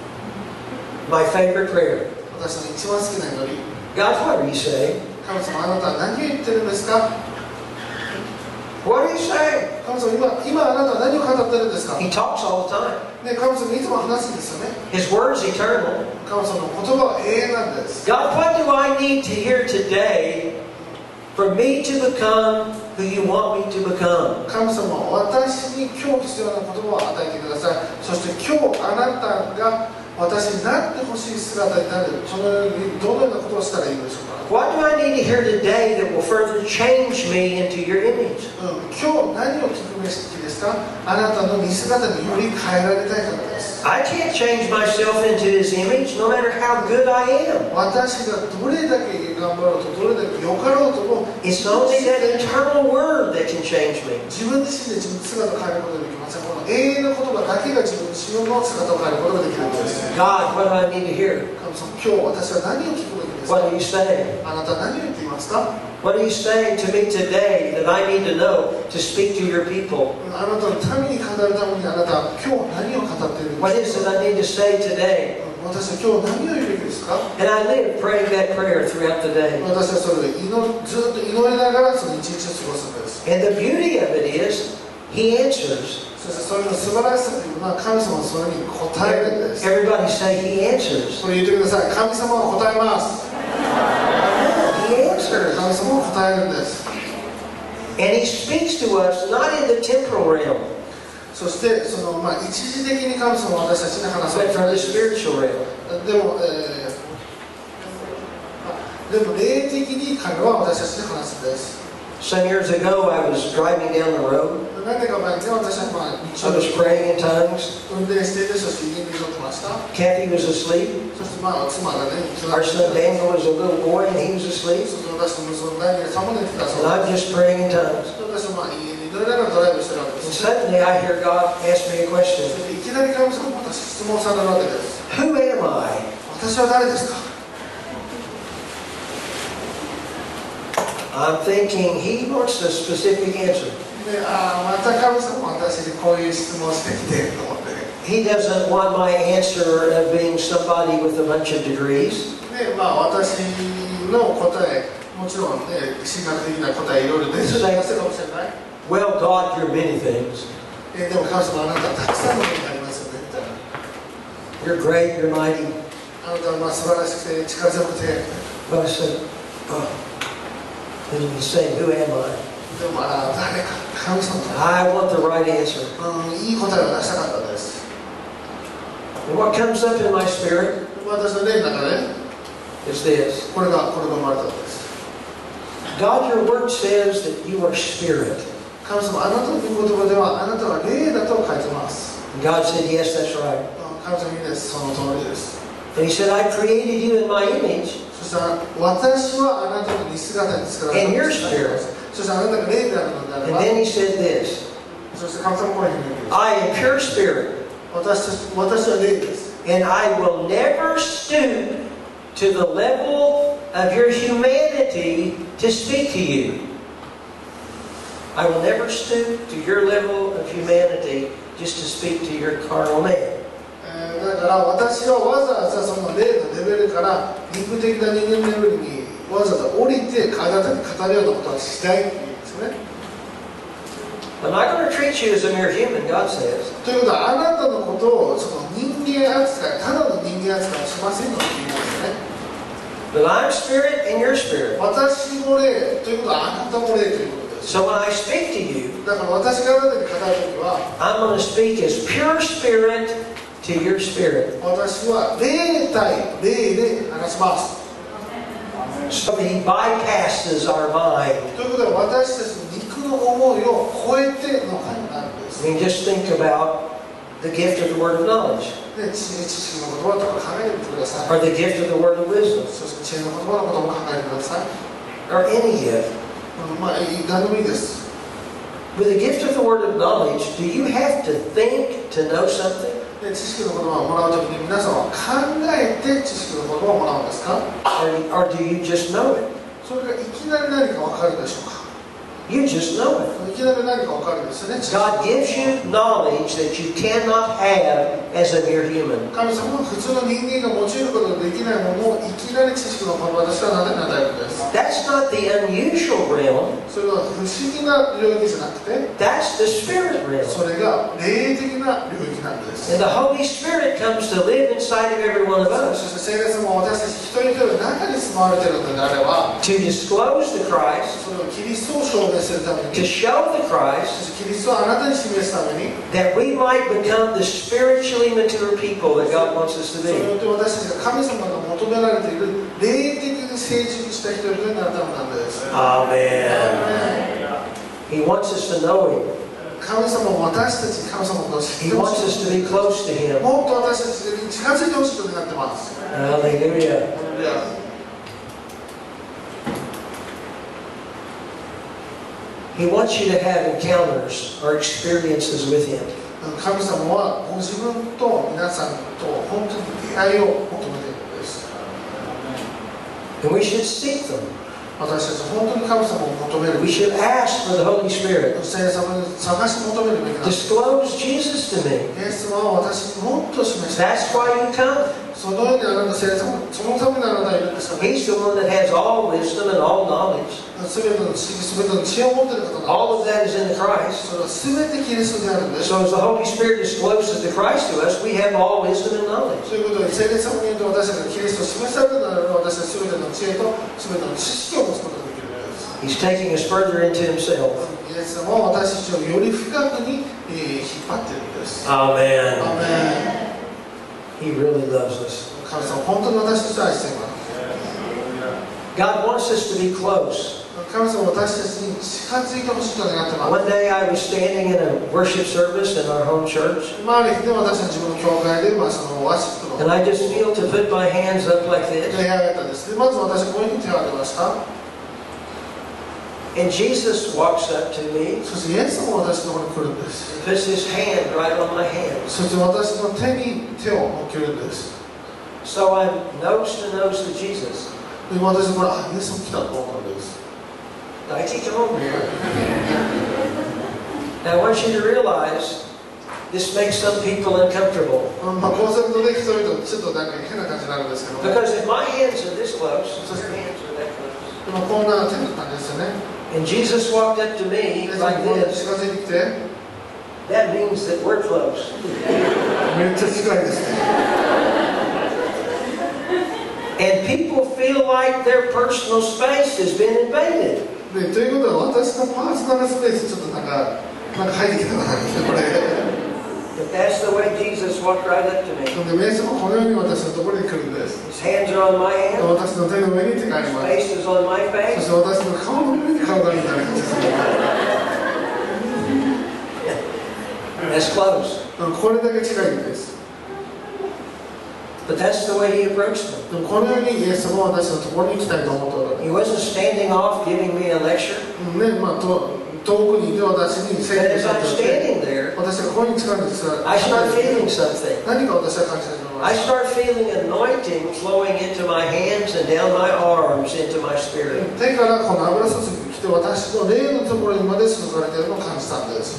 B: My favorite prayer.
C: 私の一番好きな祈り
B: God, what are you saying?
C: 神様あなたは何を言ってるんですか
B: What are you saying?
C: 神様今あなたは何を語ってるんですか
B: He talks all the time.
C: ね、神様いつも話すんですよね
B: His word's eternal.
C: 神様の言葉は永遠なんです
B: God, what do I need to hear today for me to become who you want me to become?
C: 神様は私に今日必要な言葉を与えてくださいそして今日あなたが私になってほしい姿になるそのようにどのようなことをしたらいいでしょうか
B: What do I need to hear today that will further change me into your image?
C: 今日何を聞くべきですかあなたの見姿により変えられたいからです
B: I can't change myself into His image no matter how good I am.
C: 私がどれだけ頑張ろうとどれだけよかろうとも
B: It's only that eternal word that can change me.
C: 自分自身で自分の姿を変えることができませんこの永遠の言葉だけが自分自身の姿を変えることができるんです
B: God, what do I need to hear?
C: 神様今日私は何を聞くべきですか
B: What are you saying?
C: あなたは何を言っていますか
B: What are you saying to me today that I need to know to speak to your people?
C: あなたの民に語るためにあなたは今日何を語っているん
B: What
C: で
B: is
C: す
B: it
C: か
B: I need to say today?
C: 私は今日何を言うべきですか
B: And I live praying that prayer throughout the day.
C: 私はそれでずっと祈りながらその一日を過ごすんです
B: And the beauty of it is, He answers.
C: そしてそれの素晴らしさというのは神様はそれに答えるんです
B: Everybody say, He answers.
C: これ言ってください神様は答えます
B: He answers.
C: 神様は答えるんです
B: And He speaks to us not in the temporal realm,
C: そしてその、一時的に神様は私たちに話
B: but
C: す
B: from the spiritual realm.
C: でも、でも霊的に彼は私たちに話すんです
B: Some years ago, I was driving down the road.
C: 何年か前にね私は
B: I was praying in tongues.
C: 運転していてそして家に乗ってました
B: Kathy was asleep.
C: そして妻がね
B: Our son Daniel was a little boy, and he was asleep.
C: そして私と息子のダニエルさんも寝てたそ
B: And
C: う
B: I'm
C: です
B: just praying in tongues.
C: 私は家に乗りながらドライブしてるわけで
B: And
C: す
B: suddenly, I hear God ask me a question.
C: そしていきなり神様が私質問されるわけです
B: Who am I?
C: 私は誰ですか
B: I'm thinking he wants a specific answer.
C: で、また神様私にこういう質問してきてと思って。
B: He doesn't want my answer of being somebody with a bunch of degrees.
C: で、私の答え、もちろんね、進学的な答えいろいろ出てるかもしれない。
B: Well, God, you're many things.
C: でも神様あなたたくさんのことがありますよねみたいな。
B: You're great, you're mighty.
C: あなたは素晴らしくて力強くて。
B: But I said, then you say, who am I?
C: でも誰か神様。
B: I want the right answer.
C: いい答えを出したかったです。
B: And what comes up in my spirit
C: 私の霊の中で
B: is this.
C: これが生まれたんです。
B: God, your word says that you are spirit.
C: 神様、あなたの御言葉ではあなたは霊だと書いてます。
B: And God said, yes, that's right.
C: 神様いいです。その通りです。
B: And he said, I created you in my image.
C: そしたら私はあなたの似姿に作られた。
B: And your spirit.
C: そしてあなたが霊であるのであれ
B: And
C: ば。
B: then he said this.
C: そして神様こういうふうに言うんです。
B: I am pure spirit.
C: 私は霊です。
B: And I will never stoop to the level of your humanity to speak to you. I will never stoop to your level of humanity just to speak to your carnal man.
C: だから私はわざわざその霊のレベルから肉的な人間レベルにわざわざ降りてあなたに語るようなことはしたいって言うんですよね。
B: I'm not going to treat you as a mere human, God says.
C: ということはあなたのことをその人間扱い、ただの人間扱いはしませんよって言うんですよね。
B: But I'm spirit and you're spirit.
C: 私も霊ということはあなたも霊ということです。
B: So when I speak to you,
C: だから私があなたに語るときは
B: I'm going to speak as pure spirit to your spirit.
C: 私は霊対霊で話します。
B: So he bypasses our mind.
C: ということで私たちの肉の思いを超えての会になるんです。
B: I mean, just think about the gift of the word of knowledge,
C: で、知識の言葉とか考えてみてください。
B: or the gift of the word of wisdom,
C: そして知恵の言葉のことも考えてください。
B: or any gift.
C: 何でもいいです。
B: With the gift of the word of knowledge, do you have to think to know something?
C: で、知識の言葉をもらうときに皆さんは考えて知識の言葉をもらうんですか？
B: Or do you just know it?
C: それがいきなり何か分かるでしょうか？
B: You just know it.
C: いきなり何か分かるんですよね。
B: God gives you knowledge that you cannot have as a mere human.
C: 神様は普通の人間が用いることができないものをいきなり知識の言葉としては与えるんです。
B: That's not the unusual realm.
C: それは不思議な領域じゃなくて、
B: That's the spirit realm.
C: それが霊的な領域なんです。
B: And the Holy Spirit comes to live inside of every one of
C: そ
B: us
C: して聖霊様は私たち一人一人の中に住まわれているのであれば、
B: to disclose the Christ,
C: それをキリストを証明するため
B: to
C: に、
B: show the
C: そ
B: Christ,
C: してキリストをあなたに示すために、
B: that we might become the spiritually mature people that God wants us to
C: それに
B: be.
C: よって私たちが神様が求められている霊的に成熟した人々になるためなんです。
B: Amen. He wants us to know Him.
C: 神様も私たちに神様のことを知っ
B: He
C: てほ
B: wants
C: し
B: us to be close to
C: い。
B: Him.
C: もっと私たちに近づいてほしいことになってます。
B: Hallelujah. He wants you to have encounters or experiences with Him.
C: 神様はご自分と皆さんと本当に出会いを求めているんです。
B: And we should seek them.
C: 私たち本当に神様を求める
B: We should ask for the Holy Spirit.
C: 聖霊様に探し求めるべきなんです。
B: Disclose Jesus to me.
C: イエス様は私にもっと示して、
B: That's why you come.
C: そのようにあなた聖霊様、そのためにあなたはいるんですよね。
B: He's the one that has all wisdom and all knowledge.
C: すべての知識、すべての知恵を持っている方なんです。
B: All of that is in the Christ.
C: それはすべてキリストであるんです。
B: So as the Holy Spirit discloses the Christ to us, we have all wisdom and knowledge.
C: ということで、聖霊様によって私たちがキリストを示されるならば、私たちすべての知恵とすべての知識を持つことができるんです。
B: He's taking us further into Himself.
C: イエス様は私たちをより深くに引っ張っているんです。
B: Amen.
C: アーメン。
B: He really loves us.
C: 神様、本当に私たちを愛しています。
B: God wants us to be close.
C: 神様、私たちに近づいてほしいと願ってます。
B: One day I was standing in a worship service in our home church,
C: ある日で私たちの教会で、そのワシップ
B: and
C: の
B: I just feel to put my hands up like
C: 手
B: this.
C: を挙げたんです。でまず私はこういうふうに手を挙げました。
B: And Jesus walks up to me,
C: そしてイエス様が私のところに来るんです。
B: puts His hand right on my hand.
C: そして私の手に手を乗っけるんです。
B: So I'm nose to nose with Jesus.
C: で私はこれ、イエス様来たと思ったんです。
B: 大地上。Now I want you to realize this makes some people uncomfortable.
C: まあこうするとね、人々ちょっとなんか変な感じになるんですけど、
B: Because if my hands are this close, your hands are that close.
C: まあこんな手の感じですよね。
B: And Jesus walked up to me
C: で
B: like
C: こう
B: this.
C: 近づいてきて、
B: That means that we're close.
C: めっちゃ近いですね。
B: And people feel like their personal space has been invaded.
C: でということは私のパーソナルスペースちょっとなんか入ってきたかなこれ。
B: But that's the way Jesus walked right up to me.
C: で、イエスもこのように私のところに来るんです。
B: His hands are on my hand.
C: 私の手の上に手があり
B: His
C: ます。
B: face is on my
C: そ
B: face.
C: して私の顔の上に顔があるみたいな感じです。
B: That's close.
C: これだけ近いんです。
B: But that's the way he approached me.
C: でもこのようにイエスも私のところに来たいと思っておられ
B: He
C: る。
B: wasn't standing off giving me a lecture.
C: ね、まあ遠くにいて私に
B: But
C: 宣言
B: as
C: さ
B: I'm
C: れて、
B: standing there,
C: 私がここに近づいてきた
B: I start feeling something.
C: 何か私は感じ始めま
B: I
C: す。
B: start feeling anointing flowing into my hands and down my arms into my spirit.
C: 手からこの油注ぎが来て私の霊のところにまで注がれているのを感じたんです。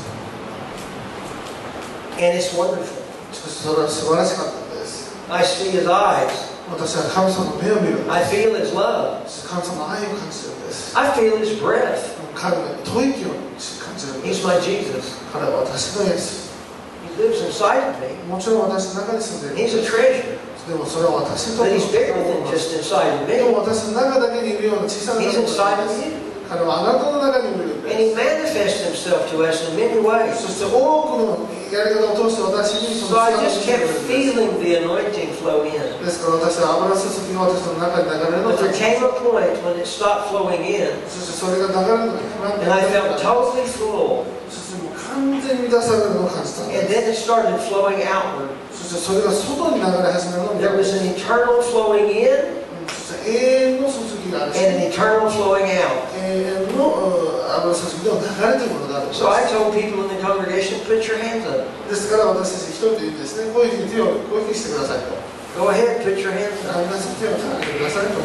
B: And it's wonderful.
C: しかしそれは素晴らしかったんです。
B: I see his eyes.
C: 私は神様の目を見るんで
B: I
C: す。
B: feel his love.
C: 神様の愛を感じるんです。
B: I feel his breath.
C: 彼の吐息を感じるんで
B: He's
C: す。
B: my Jesus.
C: 彼は私のイエス。
B: He lives inside of me.
C: もちろん私の中に住んでいる。
B: He's a treasure.
C: でもそれは私にとっ
B: But
C: て
B: he's bigger than just inside of
C: で
B: me.
C: も私の中だけにいるような小さな
B: He's
C: 方
B: inside
C: で
B: of
C: す。
B: you.
C: 彼はあなたの中にもいるん
B: And
C: で
B: he manifests himself to us in many ways.
C: す。そして多くのやり方を通して私にそ
B: So
C: の
B: I
C: 力を
B: just
C: してくれ
B: kept
C: るんです。
B: feeling the anointing flow in.
C: ですから私は油注ぎが私の中に流れるのを
B: But
C: 感
B: there
C: じ
B: came a point when it stopped flowing in.
C: そしてそれが流れるのがなく
B: And I
C: な
B: felt
C: って
B: totally full.
C: そしてもう完全に満たされるのを感じたん
B: And
C: で
B: then it started flowing outward.
C: す。そしてそれが外に流れ始めるのを見
B: There
C: たんで
B: was
C: す。
B: an eternal flowing in
C: そして永遠の注ぎがあるし、
B: and an eternal flowing out.
C: 永遠の油注ぎの流れというものがあるんです。
B: So I told people in the congregation, put your hands up.
C: ですから私たち一人で言うんですね、こういうふうに手をこういうふうにしてくださいと。
B: Go ahead, put your hands up.
C: 皆さん手を上げてくださいと。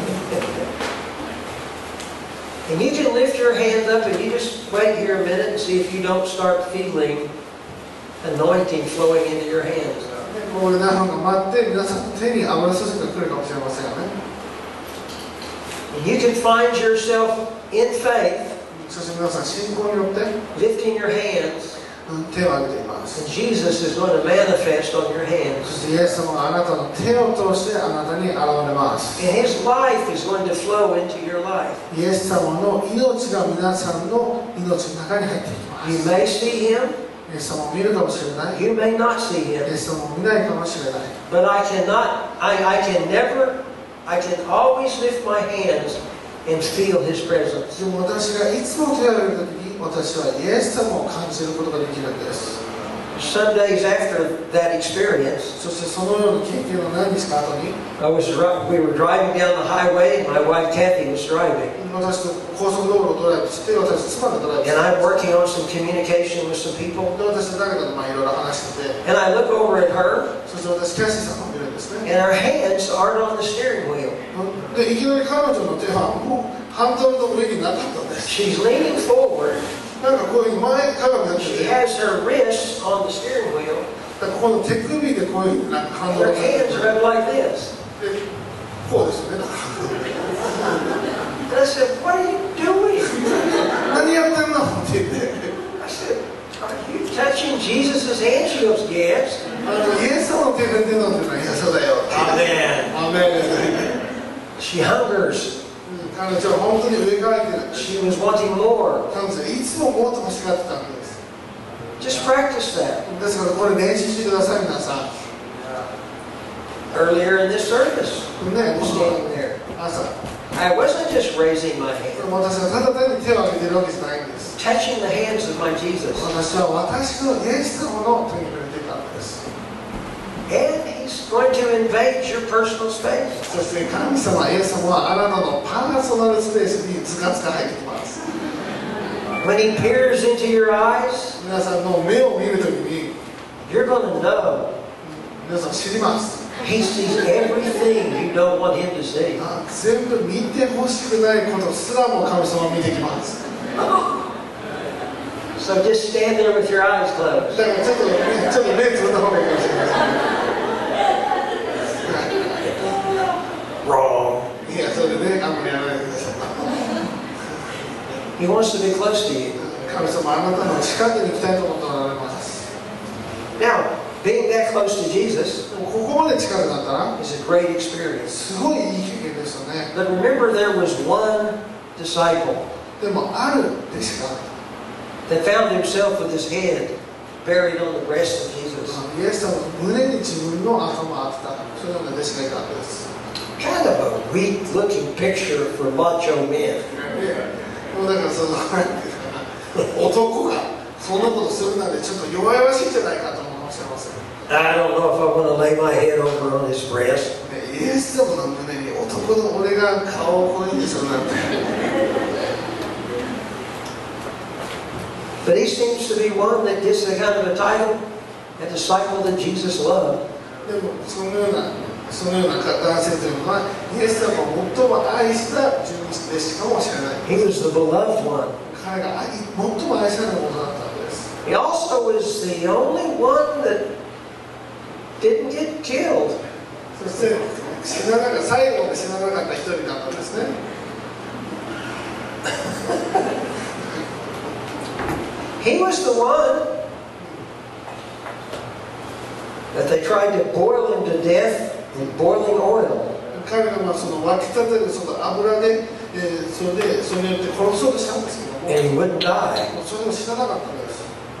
B: And you can lift your hands up and you just wait here a minute and see if you don't start feeling anointing flowing into your hands.
C: これ何分か待って皆さんの手に油注ぎが来るかもしれませんよね。
B: And you can find yourself in faith
C: そして皆さん信仰によって
B: lifting your hands,
C: 手を挙げています。
B: and Jesus is going to manifest on your
C: そ
B: hands.
C: してイエス様はあなたの手を通してあなたに現れます。
B: And His life is going to flow into your life.
C: イエス様の命が皆さんの命の中に入っていきます。
B: You may see Him,
C: イエス様を見るかもしれない。
B: you may not see
C: イエ
B: Him,
C: ス様を見ないかもしれない。
B: but I can always lift my hands and feel His presence.
C: でも私がいつも手を挙げるときに私はイエス様を感じることができるんです。
B: Some days after that experience,
C: そしてそのような経験を何日か後に
B: we were driving down the highway, and my wife Kathy was driving.
C: 私と高速道路をドライブして私妻がドライブして
B: And I'm working on some communication with some people.
C: で私と誰かといろいろ話してて
B: And I look over at her,
C: そして私キャシーさんを見るんですね
B: and her hands aren't on the steering wheel.
C: でいきなり彼女の手はもうハンドルの上になかったんです
B: She's leaning forward.
C: なんかこういうふうに前かがみになって
B: She
C: て
B: has her wrists on the steering wheel.
C: ここの手首でこういうふうになんかハンドル
B: Her
C: をで
B: hands are up like this.
C: こうですよね
B: And I said, "What are you doing?"
C: 何やってんのって言って
B: I said, "Are you touching Jesus' hands?" She goes, "Yes."
C: イエス様の手で手なんてないやそうだよ
B: Amen.
C: アメン
B: She hungers.
C: 彼女は本当に上からいてる
B: She was wanting more.
C: 彼女はいつももっと欲しがってたんです
B: Just practice that.
C: ですからこれ練習してください皆さん
B: Earlier in this service,
C: ね
B: I was standing there.
C: 朝
B: I wasn't just raising my hand,
C: 私はただ単に手を挙げてるわけじゃないんです
B: touching the hands of my Jesus.
C: 私は私のイエス様の手に触れていたんです
B: And He's going to invade your personal space.
C: そして神様イエス様はあなたのパーソナルスペースにズカズカ入ってきます
B: When He peers into your eyes,
C: 皆さんの目を見るときに
B: you're going to know
C: 皆さん知ります
B: He sees everything you don't want Him to see.
C: 全部見てほしくないことすらも神様は見てきます
B: So just stand there with your eyes closed.
C: だからちょっと目つぶった方がいいかもしれません。
B: Wrong.
C: いや、それであんまりやらないでください。
B: He wants to be close to you.
C: 神様、あなたの近くに行きたいと思っておられます。
B: Now, being that close to Jesus
C: でもここまで近くなったら
B: is a great experience.
C: すごいいい経験ですよね。
B: But remember, there was one disciple
C: でもある弟子が
B: that found himself with his head buried on the breast of Jesus.
C: イエス様の胸に自分の頭を当てた、そういうような弟子がいたわけです。
B: Kind of a weak-looking picture for macho men.
C: もうだからその男がそんなことするなんてちょっと弱々しいんじゃないかと思うかもしれません。
B: I don't know if I want to lay my head over on his breast.
C: イエス様の胸に男の俺が顔をこういうにするなんて。
B: But he seems to be one that gets the kind of a title, a disciple that Jesus loved.
C: でもそのような男性というのはイエス様を最も愛した十二弟子かもしれない。
B: He was the beloved one.
C: 彼が最も愛されるものだったんです。
B: He also was the only one that didn't get killed.
C: そして最後まで死ななかった一人だったんですね。
B: He was the one that they tried to boil him to death in boiling oil.
C: 彼がその沸き立てるその油で、それによって殺そうとしたんですけども、
B: And he wouldn't die.
C: それを知らなかったんです。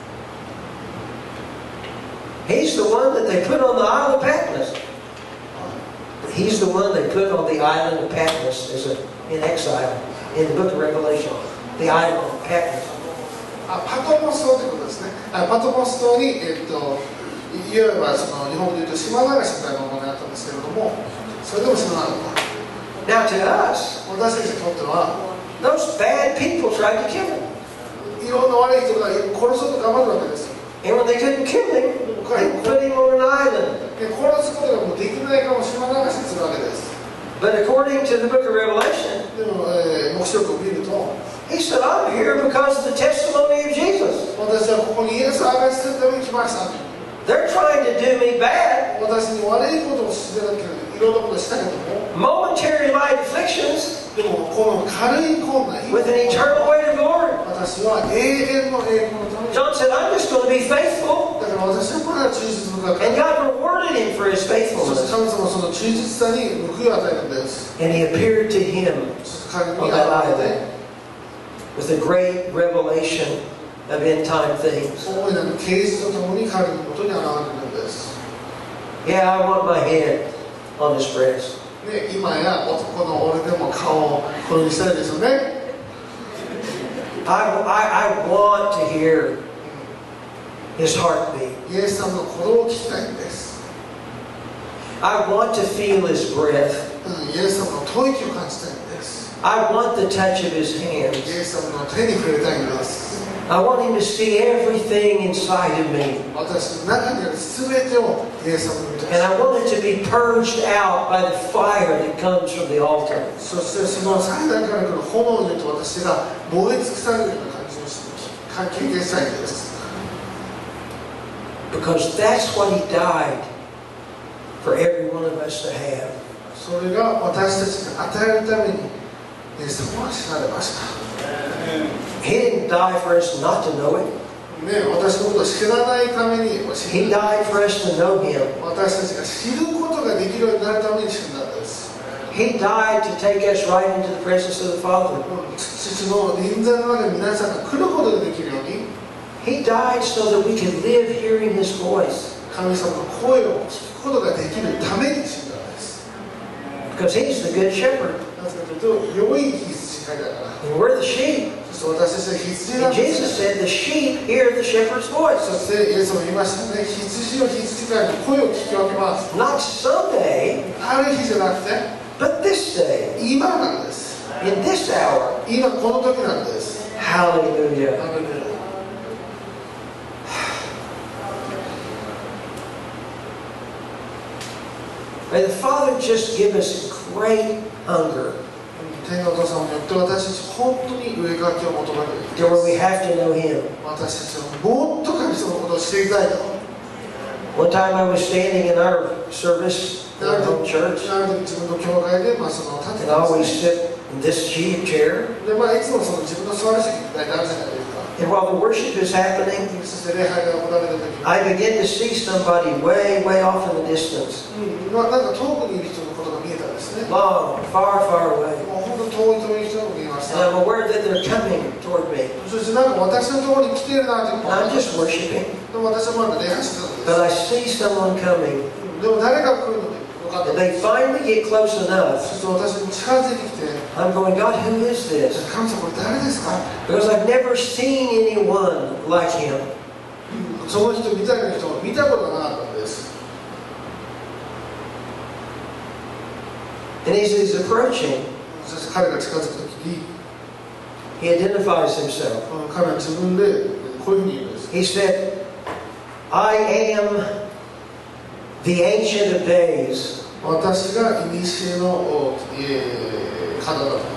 B: He's the one that they put on the Isle of Patmos. He's the one they put on the island of Patmos in exile in the book of Revelation. The island of Patmos.
C: パトモス島ということですね。パトモス島に、いわばその日本でいうと島流しみたいなものがあったんですけれども、それでも知らなかった。
B: Now to us,
C: 私たちにとっては、
B: those bad people tried to kill him.
C: いろんな悪い人が殺そうと頑張るわけです。
B: And when they couldn't kill him, they put him on an island.
C: で殺すことがもうできないかも島流しにするわけです。
B: But according to the book of Revelation,
C: でも、黙示録を見ると、
B: he said, I'm here because of the testimony of Jesus.
C: 私はここにイエスを証しするために来ました。
B: They're trying to do me bad.
C: 私に悪いことをしてなければいろんなことをしたけども、
B: Momentary light afflictions
C: でもこの軽い困難、
B: with an eternal weight of glory.
C: 私は永遠の栄光のために、
B: John said, I'm just going to be faithful.
C: だから私はまだ忠実深く、
B: And God rewarded him for his
C: そして
B: faithfulness.
C: 神様はその忠実さに報いを与えるんです。
B: And he appeared to him
C: そして彼に
B: on
C: 現
B: that
C: れ
B: island
C: て、
B: with a great revelation of end time things.
C: 大いなる啓示とともに彼のもとに現れるんです。
B: Yeah, I want my head on his breast.
C: で、今や男の俺でも顔をこれにしたいですよね。
B: I want to hear his heartbeat.
C: イエス様の鼓動を聞きたいんです。
B: I want to feel his breath.
C: イエス様の吐息を感じたいんです。
B: I want the touch of his
C: イエ
B: hands.
C: ス様の手に触れたいんです。
B: I want him to see everything inside of me.
C: 私の中にある全てをイエス様に見てほし
B: And
C: い。
B: I want it to be purged out by the fire that comes from the altar.
C: そしてその祭壇から来る炎によって私が燃え尽くされるような感じをして経験したいんです。
B: Because that's what he died for every one of us to have.
C: それが私たちに与えるためにイエス様は死なれました。
B: He didn't die for us not to know it.
C: ね、私のことを知らないために
B: He died for us to know him.
C: 私たちが知ることができるようになるために死んだんです。
B: He died to take us right into the presence of the Father.
C: 父の臨在の中に皆さんが来ることができるように、
B: He died so that we could live hearing his voice.
C: 神様の声を聞くことができるために死んだんです。
B: Because he's the good shepherd.
C: なぜかというと、良い羊飼いだから。
B: And we're the sheep.
C: そして私たちは羊なん
B: And
C: で
B: Jesus
C: す。
B: said the sheep hear the shepherd's voice.
C: そしてイエスも言いましたね、羊を羊飼いの声を聞き分けます。
B: Not someday,
C: ある日じゃなくて、
B: but this day.
C: 今なんです。
B: In this hour.
C: 今この時なんです。
B: Hallelujah.
C: アーメン。
B: May the Father just give us great hunger
C: 天のお父様によって私たち本当に上書きを求める
B: to where we have to know Him.
C: 私たちはもっと神様のことを知りたいと
B: One time I was standing in our service in
C: あ
B: our
C: る
B: home
C: 時
B: church,
C: 自分の教会で、その立て
B: and
C: て
B: I
C: ま
B: always
C: すね
B: sit in this chair.
C: で、いつもその自分の座る席に大体あるじゃないですか
B: And while the worship is happening,
C: そして礼拝が行われた時に
B: I begin to see somebody way, way off in the distance.
C: なんか遠くにいる人のことが見えたんですね
B: Long, far, far away.
C: もう本当遠い人が見えまし
B: And
C: た
B: I'm aware that they're coming toward me.
C: そしてなんか私のところに来ているなという
B: And I'm just worshiping.
C: でも私はまだ礼拝してたんです
B: But I see someone coming.
C: でも誰が来るので分かった
B: And they finally get close
C: そ
B: enough.
C: して私に近づいてきて
B: I'm going, God, who is this?
C: 神様これ誰ですか
B: Because I've never seen anyone like him.
C: その人みたいな人を見たことがなかったんです
B: And as he's approaching,
C: そして彼が近づくときに
B: he identifies himself.
C: 彼は自分でこういうふうに言うんです
B: He said, I am the Ancient of Days.
C: 私が古の方だと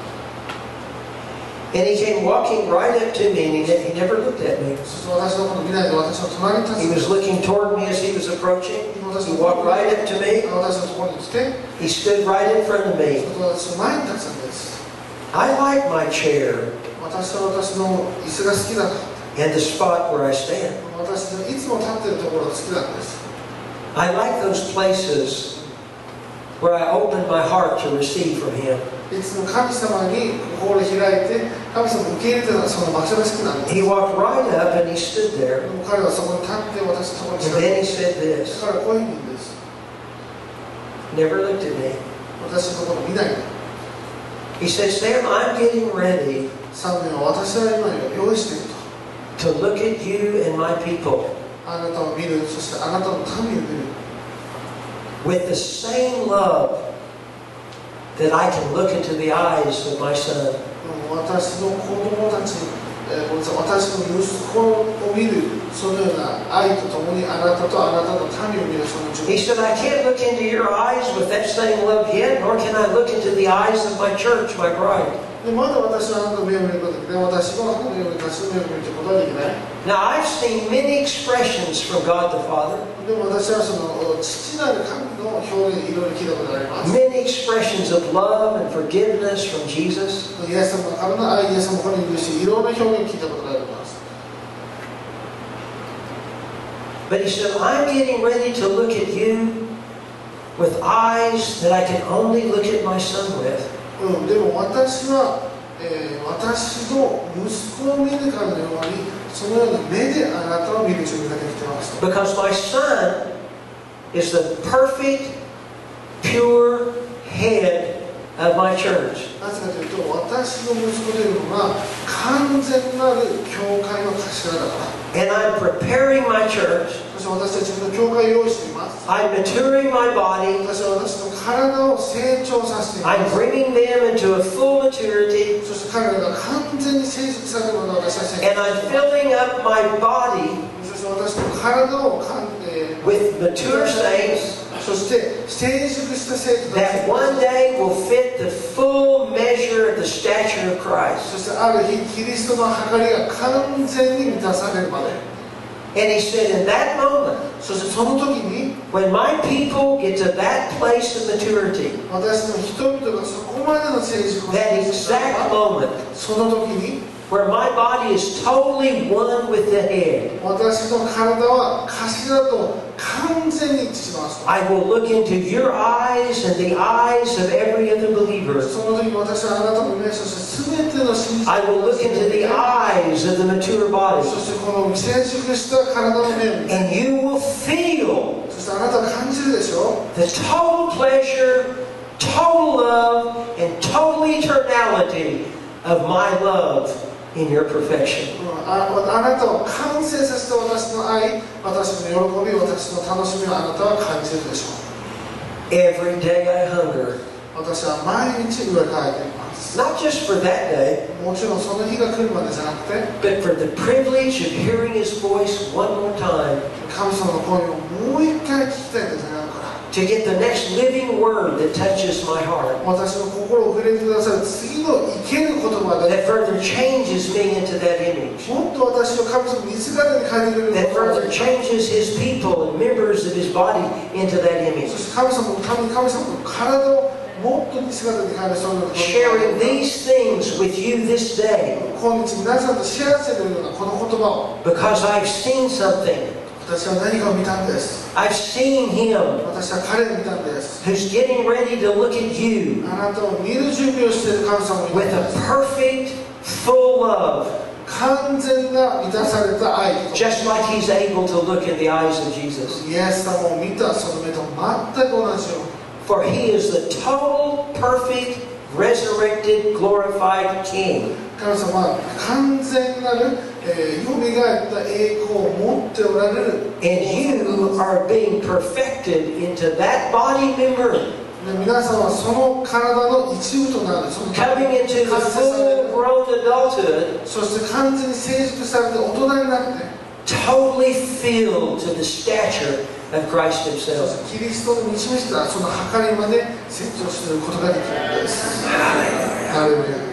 B: And he came walking right up to me, and he never looked at me.
C: そして私のことを見ないで私の隣に立
B: He
C: つ
B: was looking toward me as he was approaching. He walked right up to me.
C: 私のところに来て
B: He stood right in front of me.
C: 私の前に立つんです
B: I like my chair
C: 私は私の椅子が好きだと
B: and the spot where I stand.
C: 私のいつも立っているところが好きなんです
B: I like those places where I open my heart to receive from him.
C: いつも神様に心を開いて神様を受け入れてたその場所が好きなんです
B: He walked right up and he stood
C: で
B: there.
C: も彼はそこに立って私のところに
B: And
C: 近づ
B: then
C: い
B: he
C: て
B: said this.
C: 彼はこういうふうに言うんです
B: Never looked at me.
C: 私のところを見ないで
B: He said, Sam, I'm getting ready
C: 3年は私は今用意していると
B: to look at you and my people
C: あなたを見るそしてあなたの民を見る
B: with the same love that I can look into the eyes of my son.
C: 私の子供たち、私の息子を見るそのような愛とともにあなたとあなたの民を見るその
B: He said, I can't look into your eyes with that same love yet, nor can I look into the eyes of my church, my bride.
C: でまだ私はあなたの目を見ることができない私はあなたのように私の目を見ることはできない
B: Now, I've seen many expressions from God the Father,
C: でも私はその父なる神の表現いろいろ聞いたことがあります
B: many expressions of love and forgiveness from Jesus.
C: イエス様からの愛イエス様からの許しいろんな表現を聞いたことがあります
B: But he said, I'm getting ready to look at you with eyes that I can only look at my son with.
C: でも私は、私の息子を見るかのようにそのような目であなたを見る準備ができています
B: Because my son is the perfect, pure head of my church.
C: なぜかというと私の息子というのは完全なる教会の頭だから
B: And I'm preparing my church.
C: そして私たちの教会を用意しています
B: I'm maturing my body.
C: 私は私の体を成長させていま
B: I'm
C: す
B: bringing them into a full maturity.
C: そして彼らが完全に成熟されるのを私は成
B: And I'm filling up my body
C: そして私の体を
B: with mature saints
C: そして成熟した生徒た
B: that
C: ち
B: one day will fit the full measure of the stature of Christ.
C: そしてある日キリストの計りが完全に満たされるまで
B: And he said, in that moment,
C: そしてその時に
B: when my people get to that place of maturity,
C: 私の人々がそこまでの成熟を
B: that exact moment
C: その時に
B: where my body is totally one with the head,
C: 私の体は頭と完全に一致します
B: I will look into your eyes and the eyes of every other believer.
C: その時私はあなたの目そして全ての信者
B: I will look into the eyes of the mature
C: そ
B: body.
C: してこの成熟した体の目を見て
B: And you will feel
C: そしてあなたは感じるでしょ
B: the total pleasure, total love, and total eternality of my love in your perfection.
C: あなたを完成させた私の愛私の喜び私の楽しみをあなたは感じるでしょ
B: Every day I hunger,
C: う私は毎日上からいています
B: not just for that day,
C: もちろんその日が来るまでじゃなくて
B: but for the privilege of hearing His voice one more time
C: 神様の声をもう一回聞きたいんですねだから
B: to get the next living word that touches my heart,
C: 私の心を触れてくださる次の生ける言葉が
B: that further changes me into that image,
C: もっと私を神様の似姿に変えてくれる
B: that
C: ことが
B: further changes His people and members of His body into that
C: そ
B: image.
C: して神様のために神様の体をもっと似姿に変えるそういうこと
B: Sharing these things with you this day
C: 今日皆さんとシェアしているようなこの言葉を
B: because I've seen something.
C: 私は何かを見たんです
B: I've seen Him
C: 私は彼を見たんです
B: who's getting ready to look at you
C: あなたを見る準備をしている神様を見
B: with
C: たん
B: a
C: です
B: perfect, full love,
C: 完全な満たされた愛
B: just like He's able to look in the eyes of Jesus.
C: イエス様を見たその目と全く同じように
B: For He is the total, perfect, resurrected, glorified King.
C: 神様は完全なる、よみがえった栄光を持っておられる
B: And you are being perfected into that body member,
C: で皆さんはその体の一部となるその
B: coming into the
C: 完成される
B: full-grown adulthood,
C: そして完全に成熟されて大人になって
B: totally filled to the stature of Christ
C: そ
B: Himself.
C: してキリストの導いたその計りまで成長していることができるのです。ハレルヤ。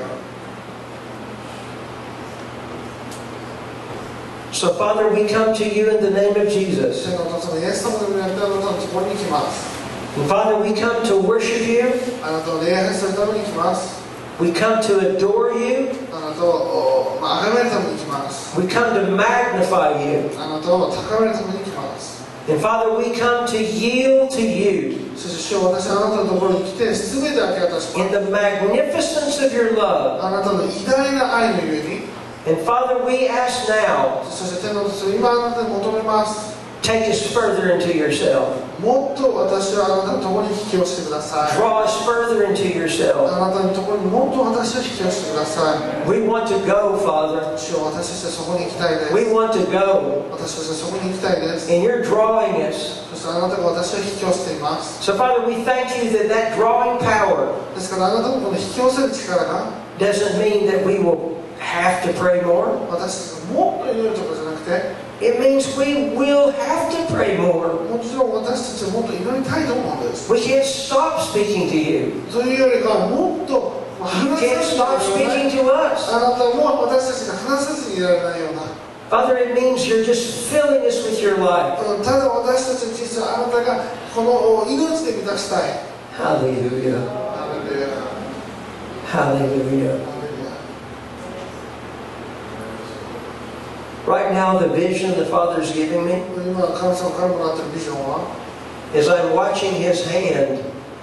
B: So, Father, we come to you in the name of
C: 天
B: Jesus.
C: のお父様イエス様の皆にあなたのところに来ます。
B: And Father, we come to worship you.
C: あなたを礼拝するために来ます。
B: We come to adore you.
C: あなたを崇めるために来ます。
B: We come to magnify you.
C: あなたを高めるために来ます。
B: And Father, we come to yield to you
C: そして主よ私はあなたのところに来て全て明け渡しま
B: in
C: す。
B: the magnificence of your love.
C: あなたの偉大な愛のゆえに
B: And Father, we ask now,
C: そして天のお父様今あなたに求めます。
B: take us further into yourself.
C: もっと私はあなたのところに引き寄せてください。
B: Draw us further into yourself.
C: あなたのところにもっと私を引き寄せてください。
B: We want to go, Father.
C: 主よ私たちはそこに行きたいです。
B: We want to go.
C: 私たちはそこに行きたいです。
B: And you're drawing us.
C: そしてあなたが私を引き寄せています。
B: So, Father, we thank you that that drawing power
C: ですからあなたのこの引き寄せる力が
B: doesn't mean that we will have to pray more.
C: 私たちがもっと祈るとかじゃなくて
B: It means we will have to pray more.
C: もちろん私たちはもっと祈りたいと思うんです。
B: We can't stop speaking to you.
C: というよりかはもっと
B: You
C: 話
B: can't
C: さ
B: stop
C: ずにいられない
B: speaking to us.
C: あなたも私たちが話さずにいられないような
B: Father, it means you're just filling us with your life.
C: ただ私たちの人生はあなたがこの命で満たしたい。
B: Hallelujah.
C: ハレルヤ
B: Hallelujah.
C: ハレルヤ
B: Right now, the vision the Father's giving me
C: 今神様からもらっているビジョンは
B: is I'm watching His hand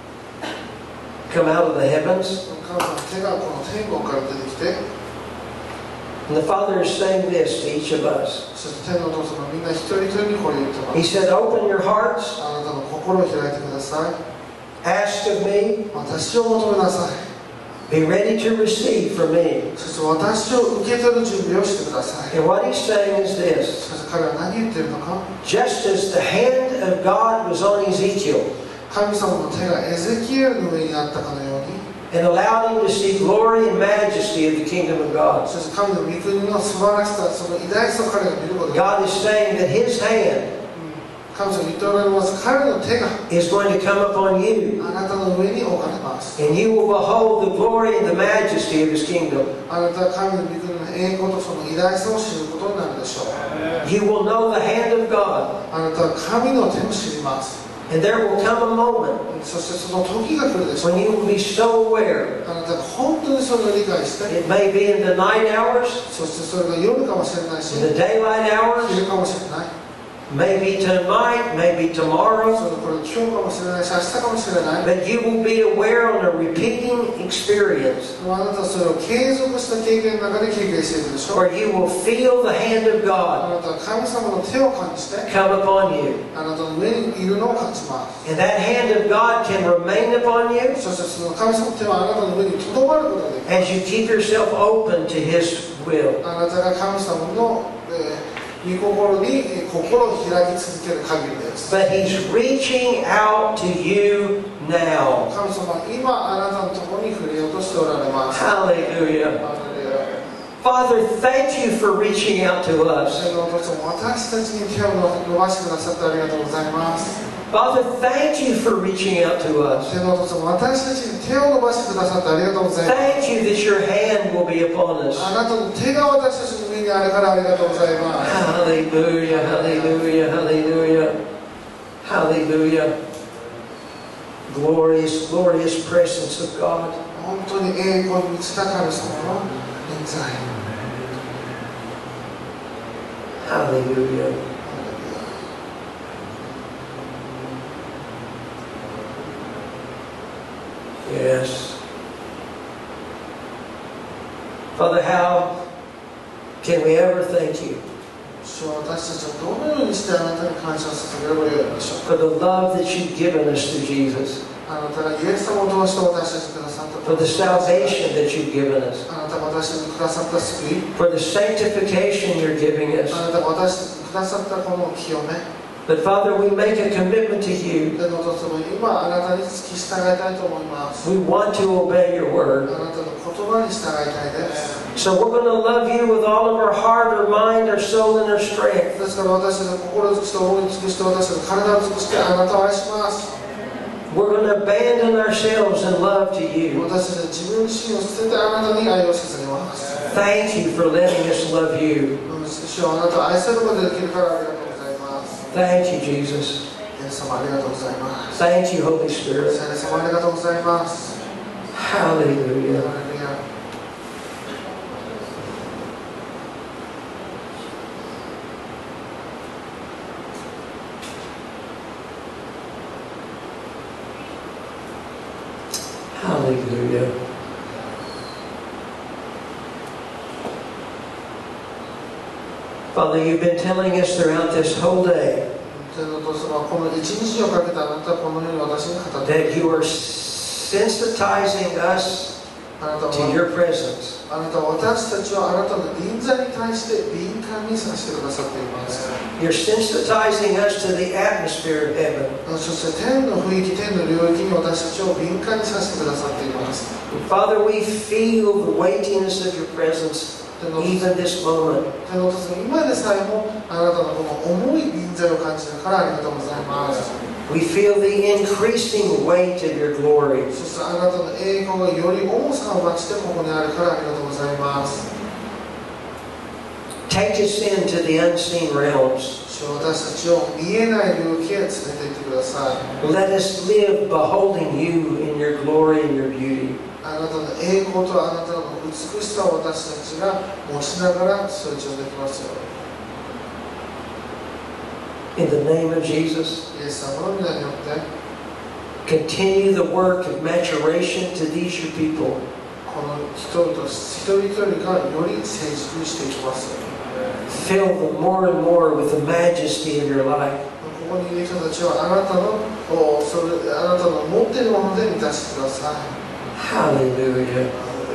B: come out of the heavens.
C: 神様の手がこの天国から出てきて
B: And the Father is saying this to each of us.
C: そして天のお父様みんな一人一人にこれ言ってま
B: He
C: す。
B: said, open your hearts,
C: あなたの心を開いてください。
B: ask of me,
C: 私を求めなさい。
B: be ready to receive from me.
C: そして私を受け取る準備をしてください。
B: And what He's saying is this.
C: そして彼は何言っているのか
B: Just as the hand of God was on Ezekiel
C: 神様の手がエゼキエルの上にあったかのように
B: and allowed him to see glory and majesty of the kingdom of God.
C: そして神の御国の素晴らしさその偉大さを彼が見ることが
B: God is saying that His hand
C: 神様言っておられます彼の手が
B: is going to come upon you,
C: あなたの上に置かれます
B: and you will behold the glory and the majesty of His kingdom.
C: あなたは神の御国の栄光とその偉大さを知ることになるでしょう
B: You will know the hand of God,
C: あなたは神の手を知ります
B: and there will come a moment
C: そしてその時が来るでしょう
B: when you will be so aware.
C: あなたが本当にそれを理解して
B: It may be in the night hours,
C: そしてそれが夜かもしれないし
B: in the daylight hours,
C: 昼かもしれない
B: maybe tonight, maybe
C: そ
B: tomorrow,
C: れこれ今日かもしれないし明日かもしれない
B: but you will be aware on a repeating experience
C: あなたはそれを継続した経験の中で経験しているでしょう
B: where you will feel the hand of
C: あ
B: God
C: なたは神様の手を感じて
B: come upon you.
C: あなたの上にいるのを感じます
B: And that hand of God can remain upon you
C: そしてその神様の手はあなたの上にとどまることができる
B: as you keep yourself open to His will.
C: あなたが神様の、御心に心を開き続ける限りです
B: But He's reaching out to you now.
C: 神様は今あなたのところに触れようとしておられます
B: Hallelujah.
C: ハレルヤ
B: Father, thank you for reaching out to us.
C: 天のお父さんも私たちに手を伸ばしてくださってありがとうございます。
B: Father, thank you for reaching out to us.
C: 天のお父さんも私たちに手を伸ばしてくださってありがとうございます。
B: Thank you that your hand will be upon us.
C: あなたの手が私たちの上にあるからありがとうございます。
B: Hallelujah, hallelujah, hallelujah, hallelujah. Glorious, glorious presence of God.
C: 本当に栄光に満ちた神様の臨在。
B: Hallelujah. Yes. Father, how can we ever thank you
C: 主は私たちはどのようにしてあなたに感謝させてくればよいでしょうか。
B: for the love that you've given us through Jesus,
C: あなたがイエス様を通して私たちにくださった
B: for the salvation that you've given us,
C: あなたが私たちにくださった救い、
B: for the sanctification you're giving us.
C: あなたが私たちにくださったこの清め。
B: But Father, we make a commitment to you.
C: 天のお父様、今あなたに付き従いたいと思います。
B: We want to obey your
C: あ
B: word.
C: なたの言葉に従いたいです。
B: So we're going to love you with all of our heart, our mind, our soul, and our strength.
C: ですから私たちの心を尽くして思い尽くして私たちの体を尽くしてあなたを愛します。
B: We're going to abandon ourselves in love to you.
C: 私たちは自分自身を捨ててあなたに愛を捧げます。
B: Thank you for letting us love you.
C: 主はあなたを愛することができるからありがとうございます。
B: Thank you, Jesus.
C: イエス様ありがとうございます。
B: Thank you, Holy Spirit.
C: 聖霊様ありがとうございます。
B: Hallelujah.
C: ハレルヤ。
B: Hallelujah. Father, you've been telling us throughout this whole day
C: 天のお父様はこの一日をかけてあなたはこのように私に語って
B: that you are sensitizing us
C: あなた
B: to
C: は
B: your presence.
C: あなたは私たちをあなたの臨在に対して敏感にさせてくださっています。
B: You're sensitizing us to the atmosphere of heaven.
C: そして天の雰囲気、天の領域に私たちを敏感にさせてくださっています。
B: Father, we feel the weightiness of your presence even this moment.
C: 天のお父様、今でさえもあなたのこの重い臨在を感じるからありがとうございます。
B: We feel the increasing weight of your glory.
C: そしてあなたの栄光がより重さを増してここにあるからありがとうございます。
B: Take us into the unseen realms.
C: 主は私たちを見えない領域へ連れて行ってください。
B: Let us live beholding you in your glory and your beauty.
C: あなたの栄光とあなたの美しさを私たちが持ちながら成長できますよ。
B: In the name of Jesus,
C: イエス様の皆によって
B: continue the work of maturation to these your people.
C: この人々一人一人がより成熟していきますよ。
B: Fill them more and more with the majesty of your life.
C: ここにいる人たちはあなたの持っているもので満たしてください。
B: Hallelujah.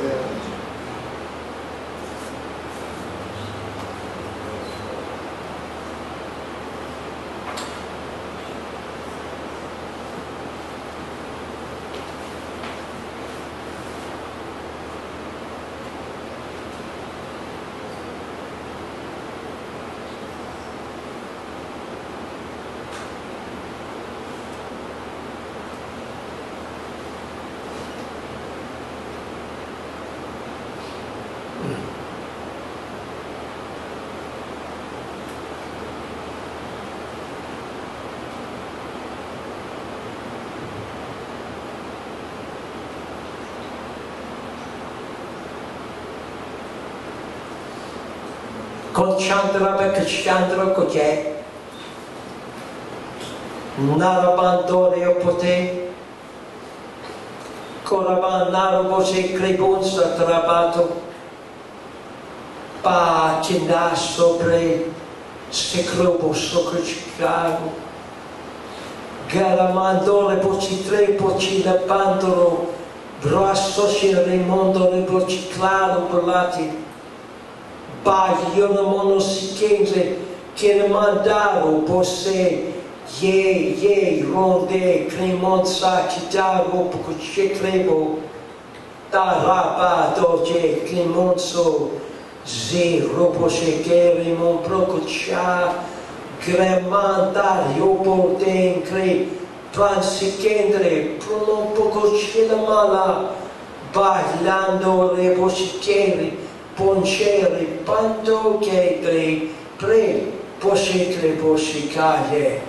B: Conchandra Bekachandra Koke Narabandore Opote Koraban Narabose Krebonsa Trabato Pa Chinda Sobre Seclobo Socrocicago Garamandore Pocitre Pocina Pandoro Brasosi Raimondo Rebociclaro Polati Bagliano monosichese che ne mandaro posse ye ronde cremonza chitaro pocuche crebo taraba doce cremonzo Zero poshekeri mon prokucha Gremandar yopoten kre Transikendre pronopokochilamala Bailando reposhikeri Poncheri panto kegre Pre poshekre poshikaye.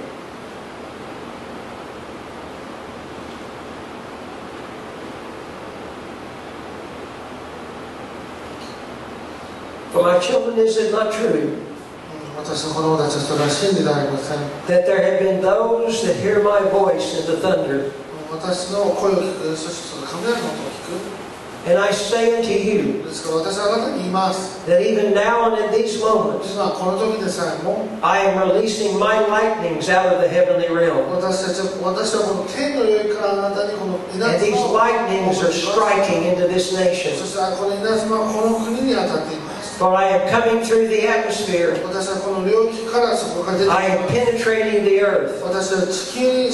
B: For my children, is it not true
C: 私の子供たちはそれは真理ではありません。
B: that there have been those that hear my voice in the thunder?
C: 私の声を聞く、そしてその雷の音を聞く。
B: And I say unto you
C: ですから私はあなたに言います。
B: that even now and in these moments,
C: 今この時でさえも
B: I am releasing my lightnings out of the heavenly realm.
C: 私はこの天の領域からあなたにこの稲
B: And
C: 妻
B: these
C: を
B: lightnings are striking into this nation.
C: そしてこの稲妻はこの国に当たっています。
B: For I am coming through the atmosphere.
C: 私はこの領域からそこから出てき
B: I am
C: ます。
B: penetrating the earth.
C: 私は地球に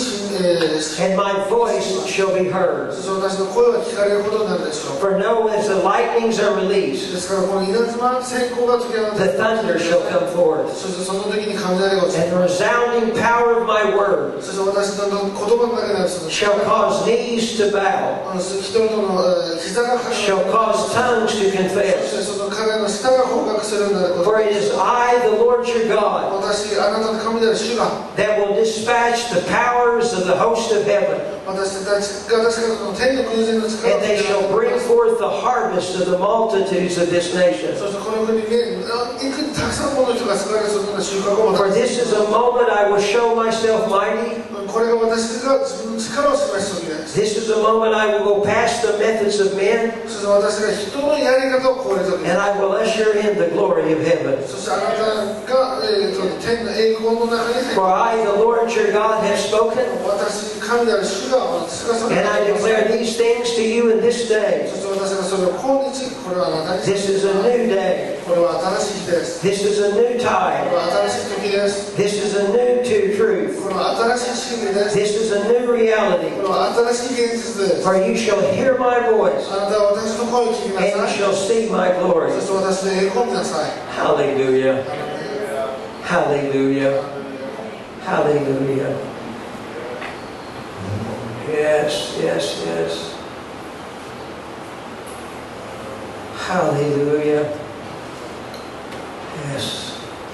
B: And my voice shall be heard.
C: そして私の声は聞かれることになるでしょう。
B: For know as the lightnings are released,
C: ですからこの稲妻閃光が解き放た
B: the
C: れ
B: thunder shall come forth.
C: そしてその時に雷が落ち
B: And the resounding power of my word
C: そして私の言葉の中にあるその
B: shall cause knees to bow,
C: 人々の膝がかかる
B: shall cause tongues to
C: そして
B: confess.
C: その彼の舌が崩壊するようになること
B: For it is I, the Lord your God,
C: 私あなたの神である主が
B: that will dispatch the powers of the host of heaven,
C: 私たちが確かにこの天の空前の力を
B: and they shall bring forth the harvest of the multitudes of this nation.
C: そしてこの国にねいくたくさんの人が救われそのような収穫を
B: For this is a moment I will show myself mighty.
C: これが私が自分の力を示す時です
B: This is a moment I will go past the methods of men,
C: そして私が人のやり方を超える時で
B: and I will usher in the glory of heaven.
C: すそしてあなたが、天の栄光の中に入
B: For I, the Lord your God, have spoken,
C: 私神である主が私がそれ
B: and I declare these things to you in this day.
C: そして私がそれを今日これはあなたに
B: This is a new day.
C: これは新しい日です
B: This is a new
C: これ
B: time.
C: は新しい時です
B: This is a new truth.
C: これは新しい真理です
B: This is a new reality.
C: これは新しい現実です
B: For you shall hear my voice,
C: あなたは私の声を聞きな
B: and you
C: さい
B: shall see my glory.
C: そして私の栄光を見なさい
B: Hallelujah. Hallelujah. Hallelujah. Yes, yes, yes. Hallelujah. Yes.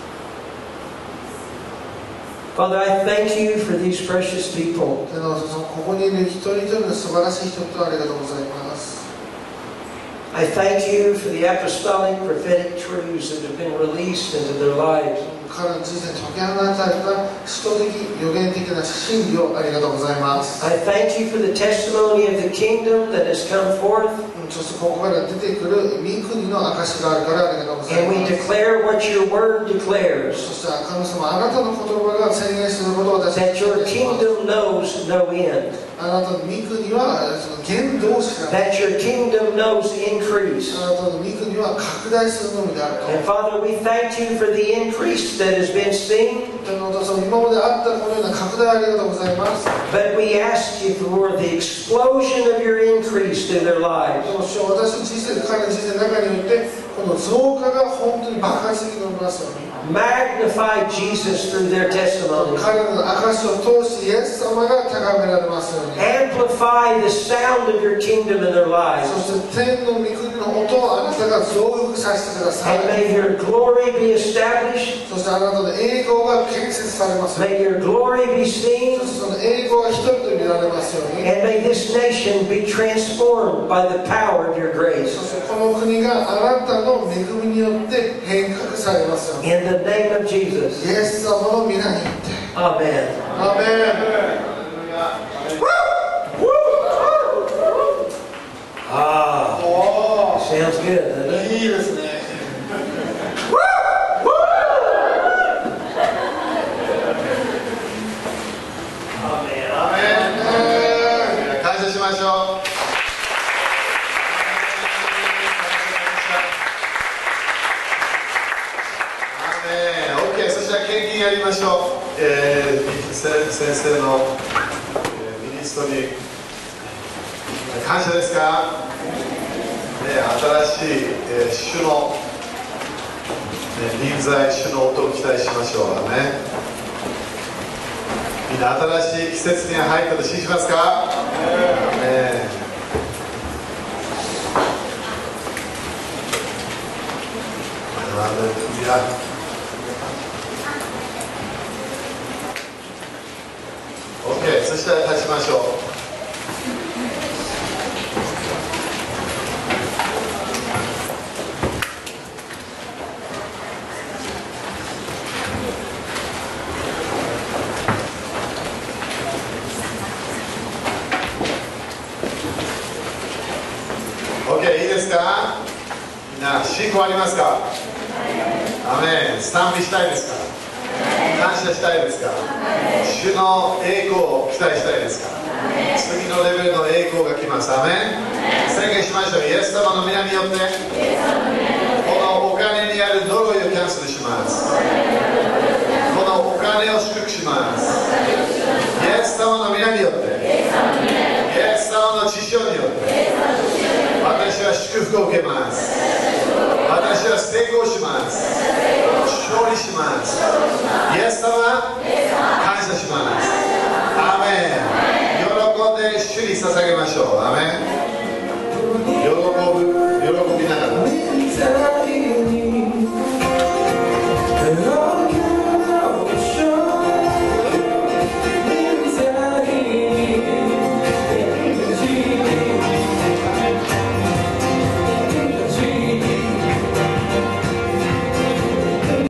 B: Father, I thank you for these precious people.
C: 天皇そのここにいる一人一人の素晴らしい人々ありがとうございます
B: I thank you for the apostolic prophetic truths that have been released into their lives.
C: 彼の人生に解き放たれた使徒的予言的な真理をありがとうございます
B: I thank you for the testimony of the kingdom that has come forth.
C: そしてここから出てくる御国の証があるからありがとうござい
B: And we
C: ます
B: declare what your word declares,
C: そして神様あなたの言葉が宣言することを私た
B: that
C: ちは
B: your kingdom knows no end,
C: あなたの御国はその限度を知らない
B: that your kingdom knows increase.
C: あなたの御国は拡大するのみであると
B: And Father, we thank you for the increase that has been seen,
C: 天皇とその今まであったこのような拡大ありがとうございます
B: but we ask you for the explosion of your increase through their lives.
C: でも主よ私の人生彼の人生の中においてこの増加が本当に爆発的に伸びますように
B: Magnify Jesus through their testimony.
C: 彼の証を通してイエス様が高められますように
B: Amplify the sound of your kingdom in their lives.
C: そして天の御国の音をあなたが増幅させてください
B: And may your glory be established.
C: そしてあなたの栄光が建設されますように
B: May your glory be seen.
C: そしてその栄光が人々に見られますように
B: And may this nation be transformed by the power of your
C: そ
B: grace.
C: してこの国があなたの恵みによって変革されますように
B: In the name of Jesus.
C: イエス様の皆によって
B: Amen.
C: アーメン
B: Ah,
C: お
B: sounds good, doesn't
C: ー
B: it?
C: いいですね
A: 感謝しましょう。OK、そしたら献金やりましょう。先生の、ミニストに感謝ですか、新しい、主の臨在主の音を期待しましょう。アーメン。みんな新しい季節に入ったと信じますか？アーメン。ハレルヤ。OK、そしたら立ちましょう。OK、いいですか？みんな信仰ありますか？アメン。賛美したいですか？感謝したいですか？主の栄光を期待したいですか？次のレベルの栄光が来ます。アメン。宣言しましょう。イエス様の皆によってこのお金にある呪いをキャンセルします。このお金を祝福します。イエス様の皆によって、イエス様の血潮によって私は祝福を受けます。私は成功します。勝利します。イエス様、感謝します。アーメン。喜んで主に捧げましょう。アーメン。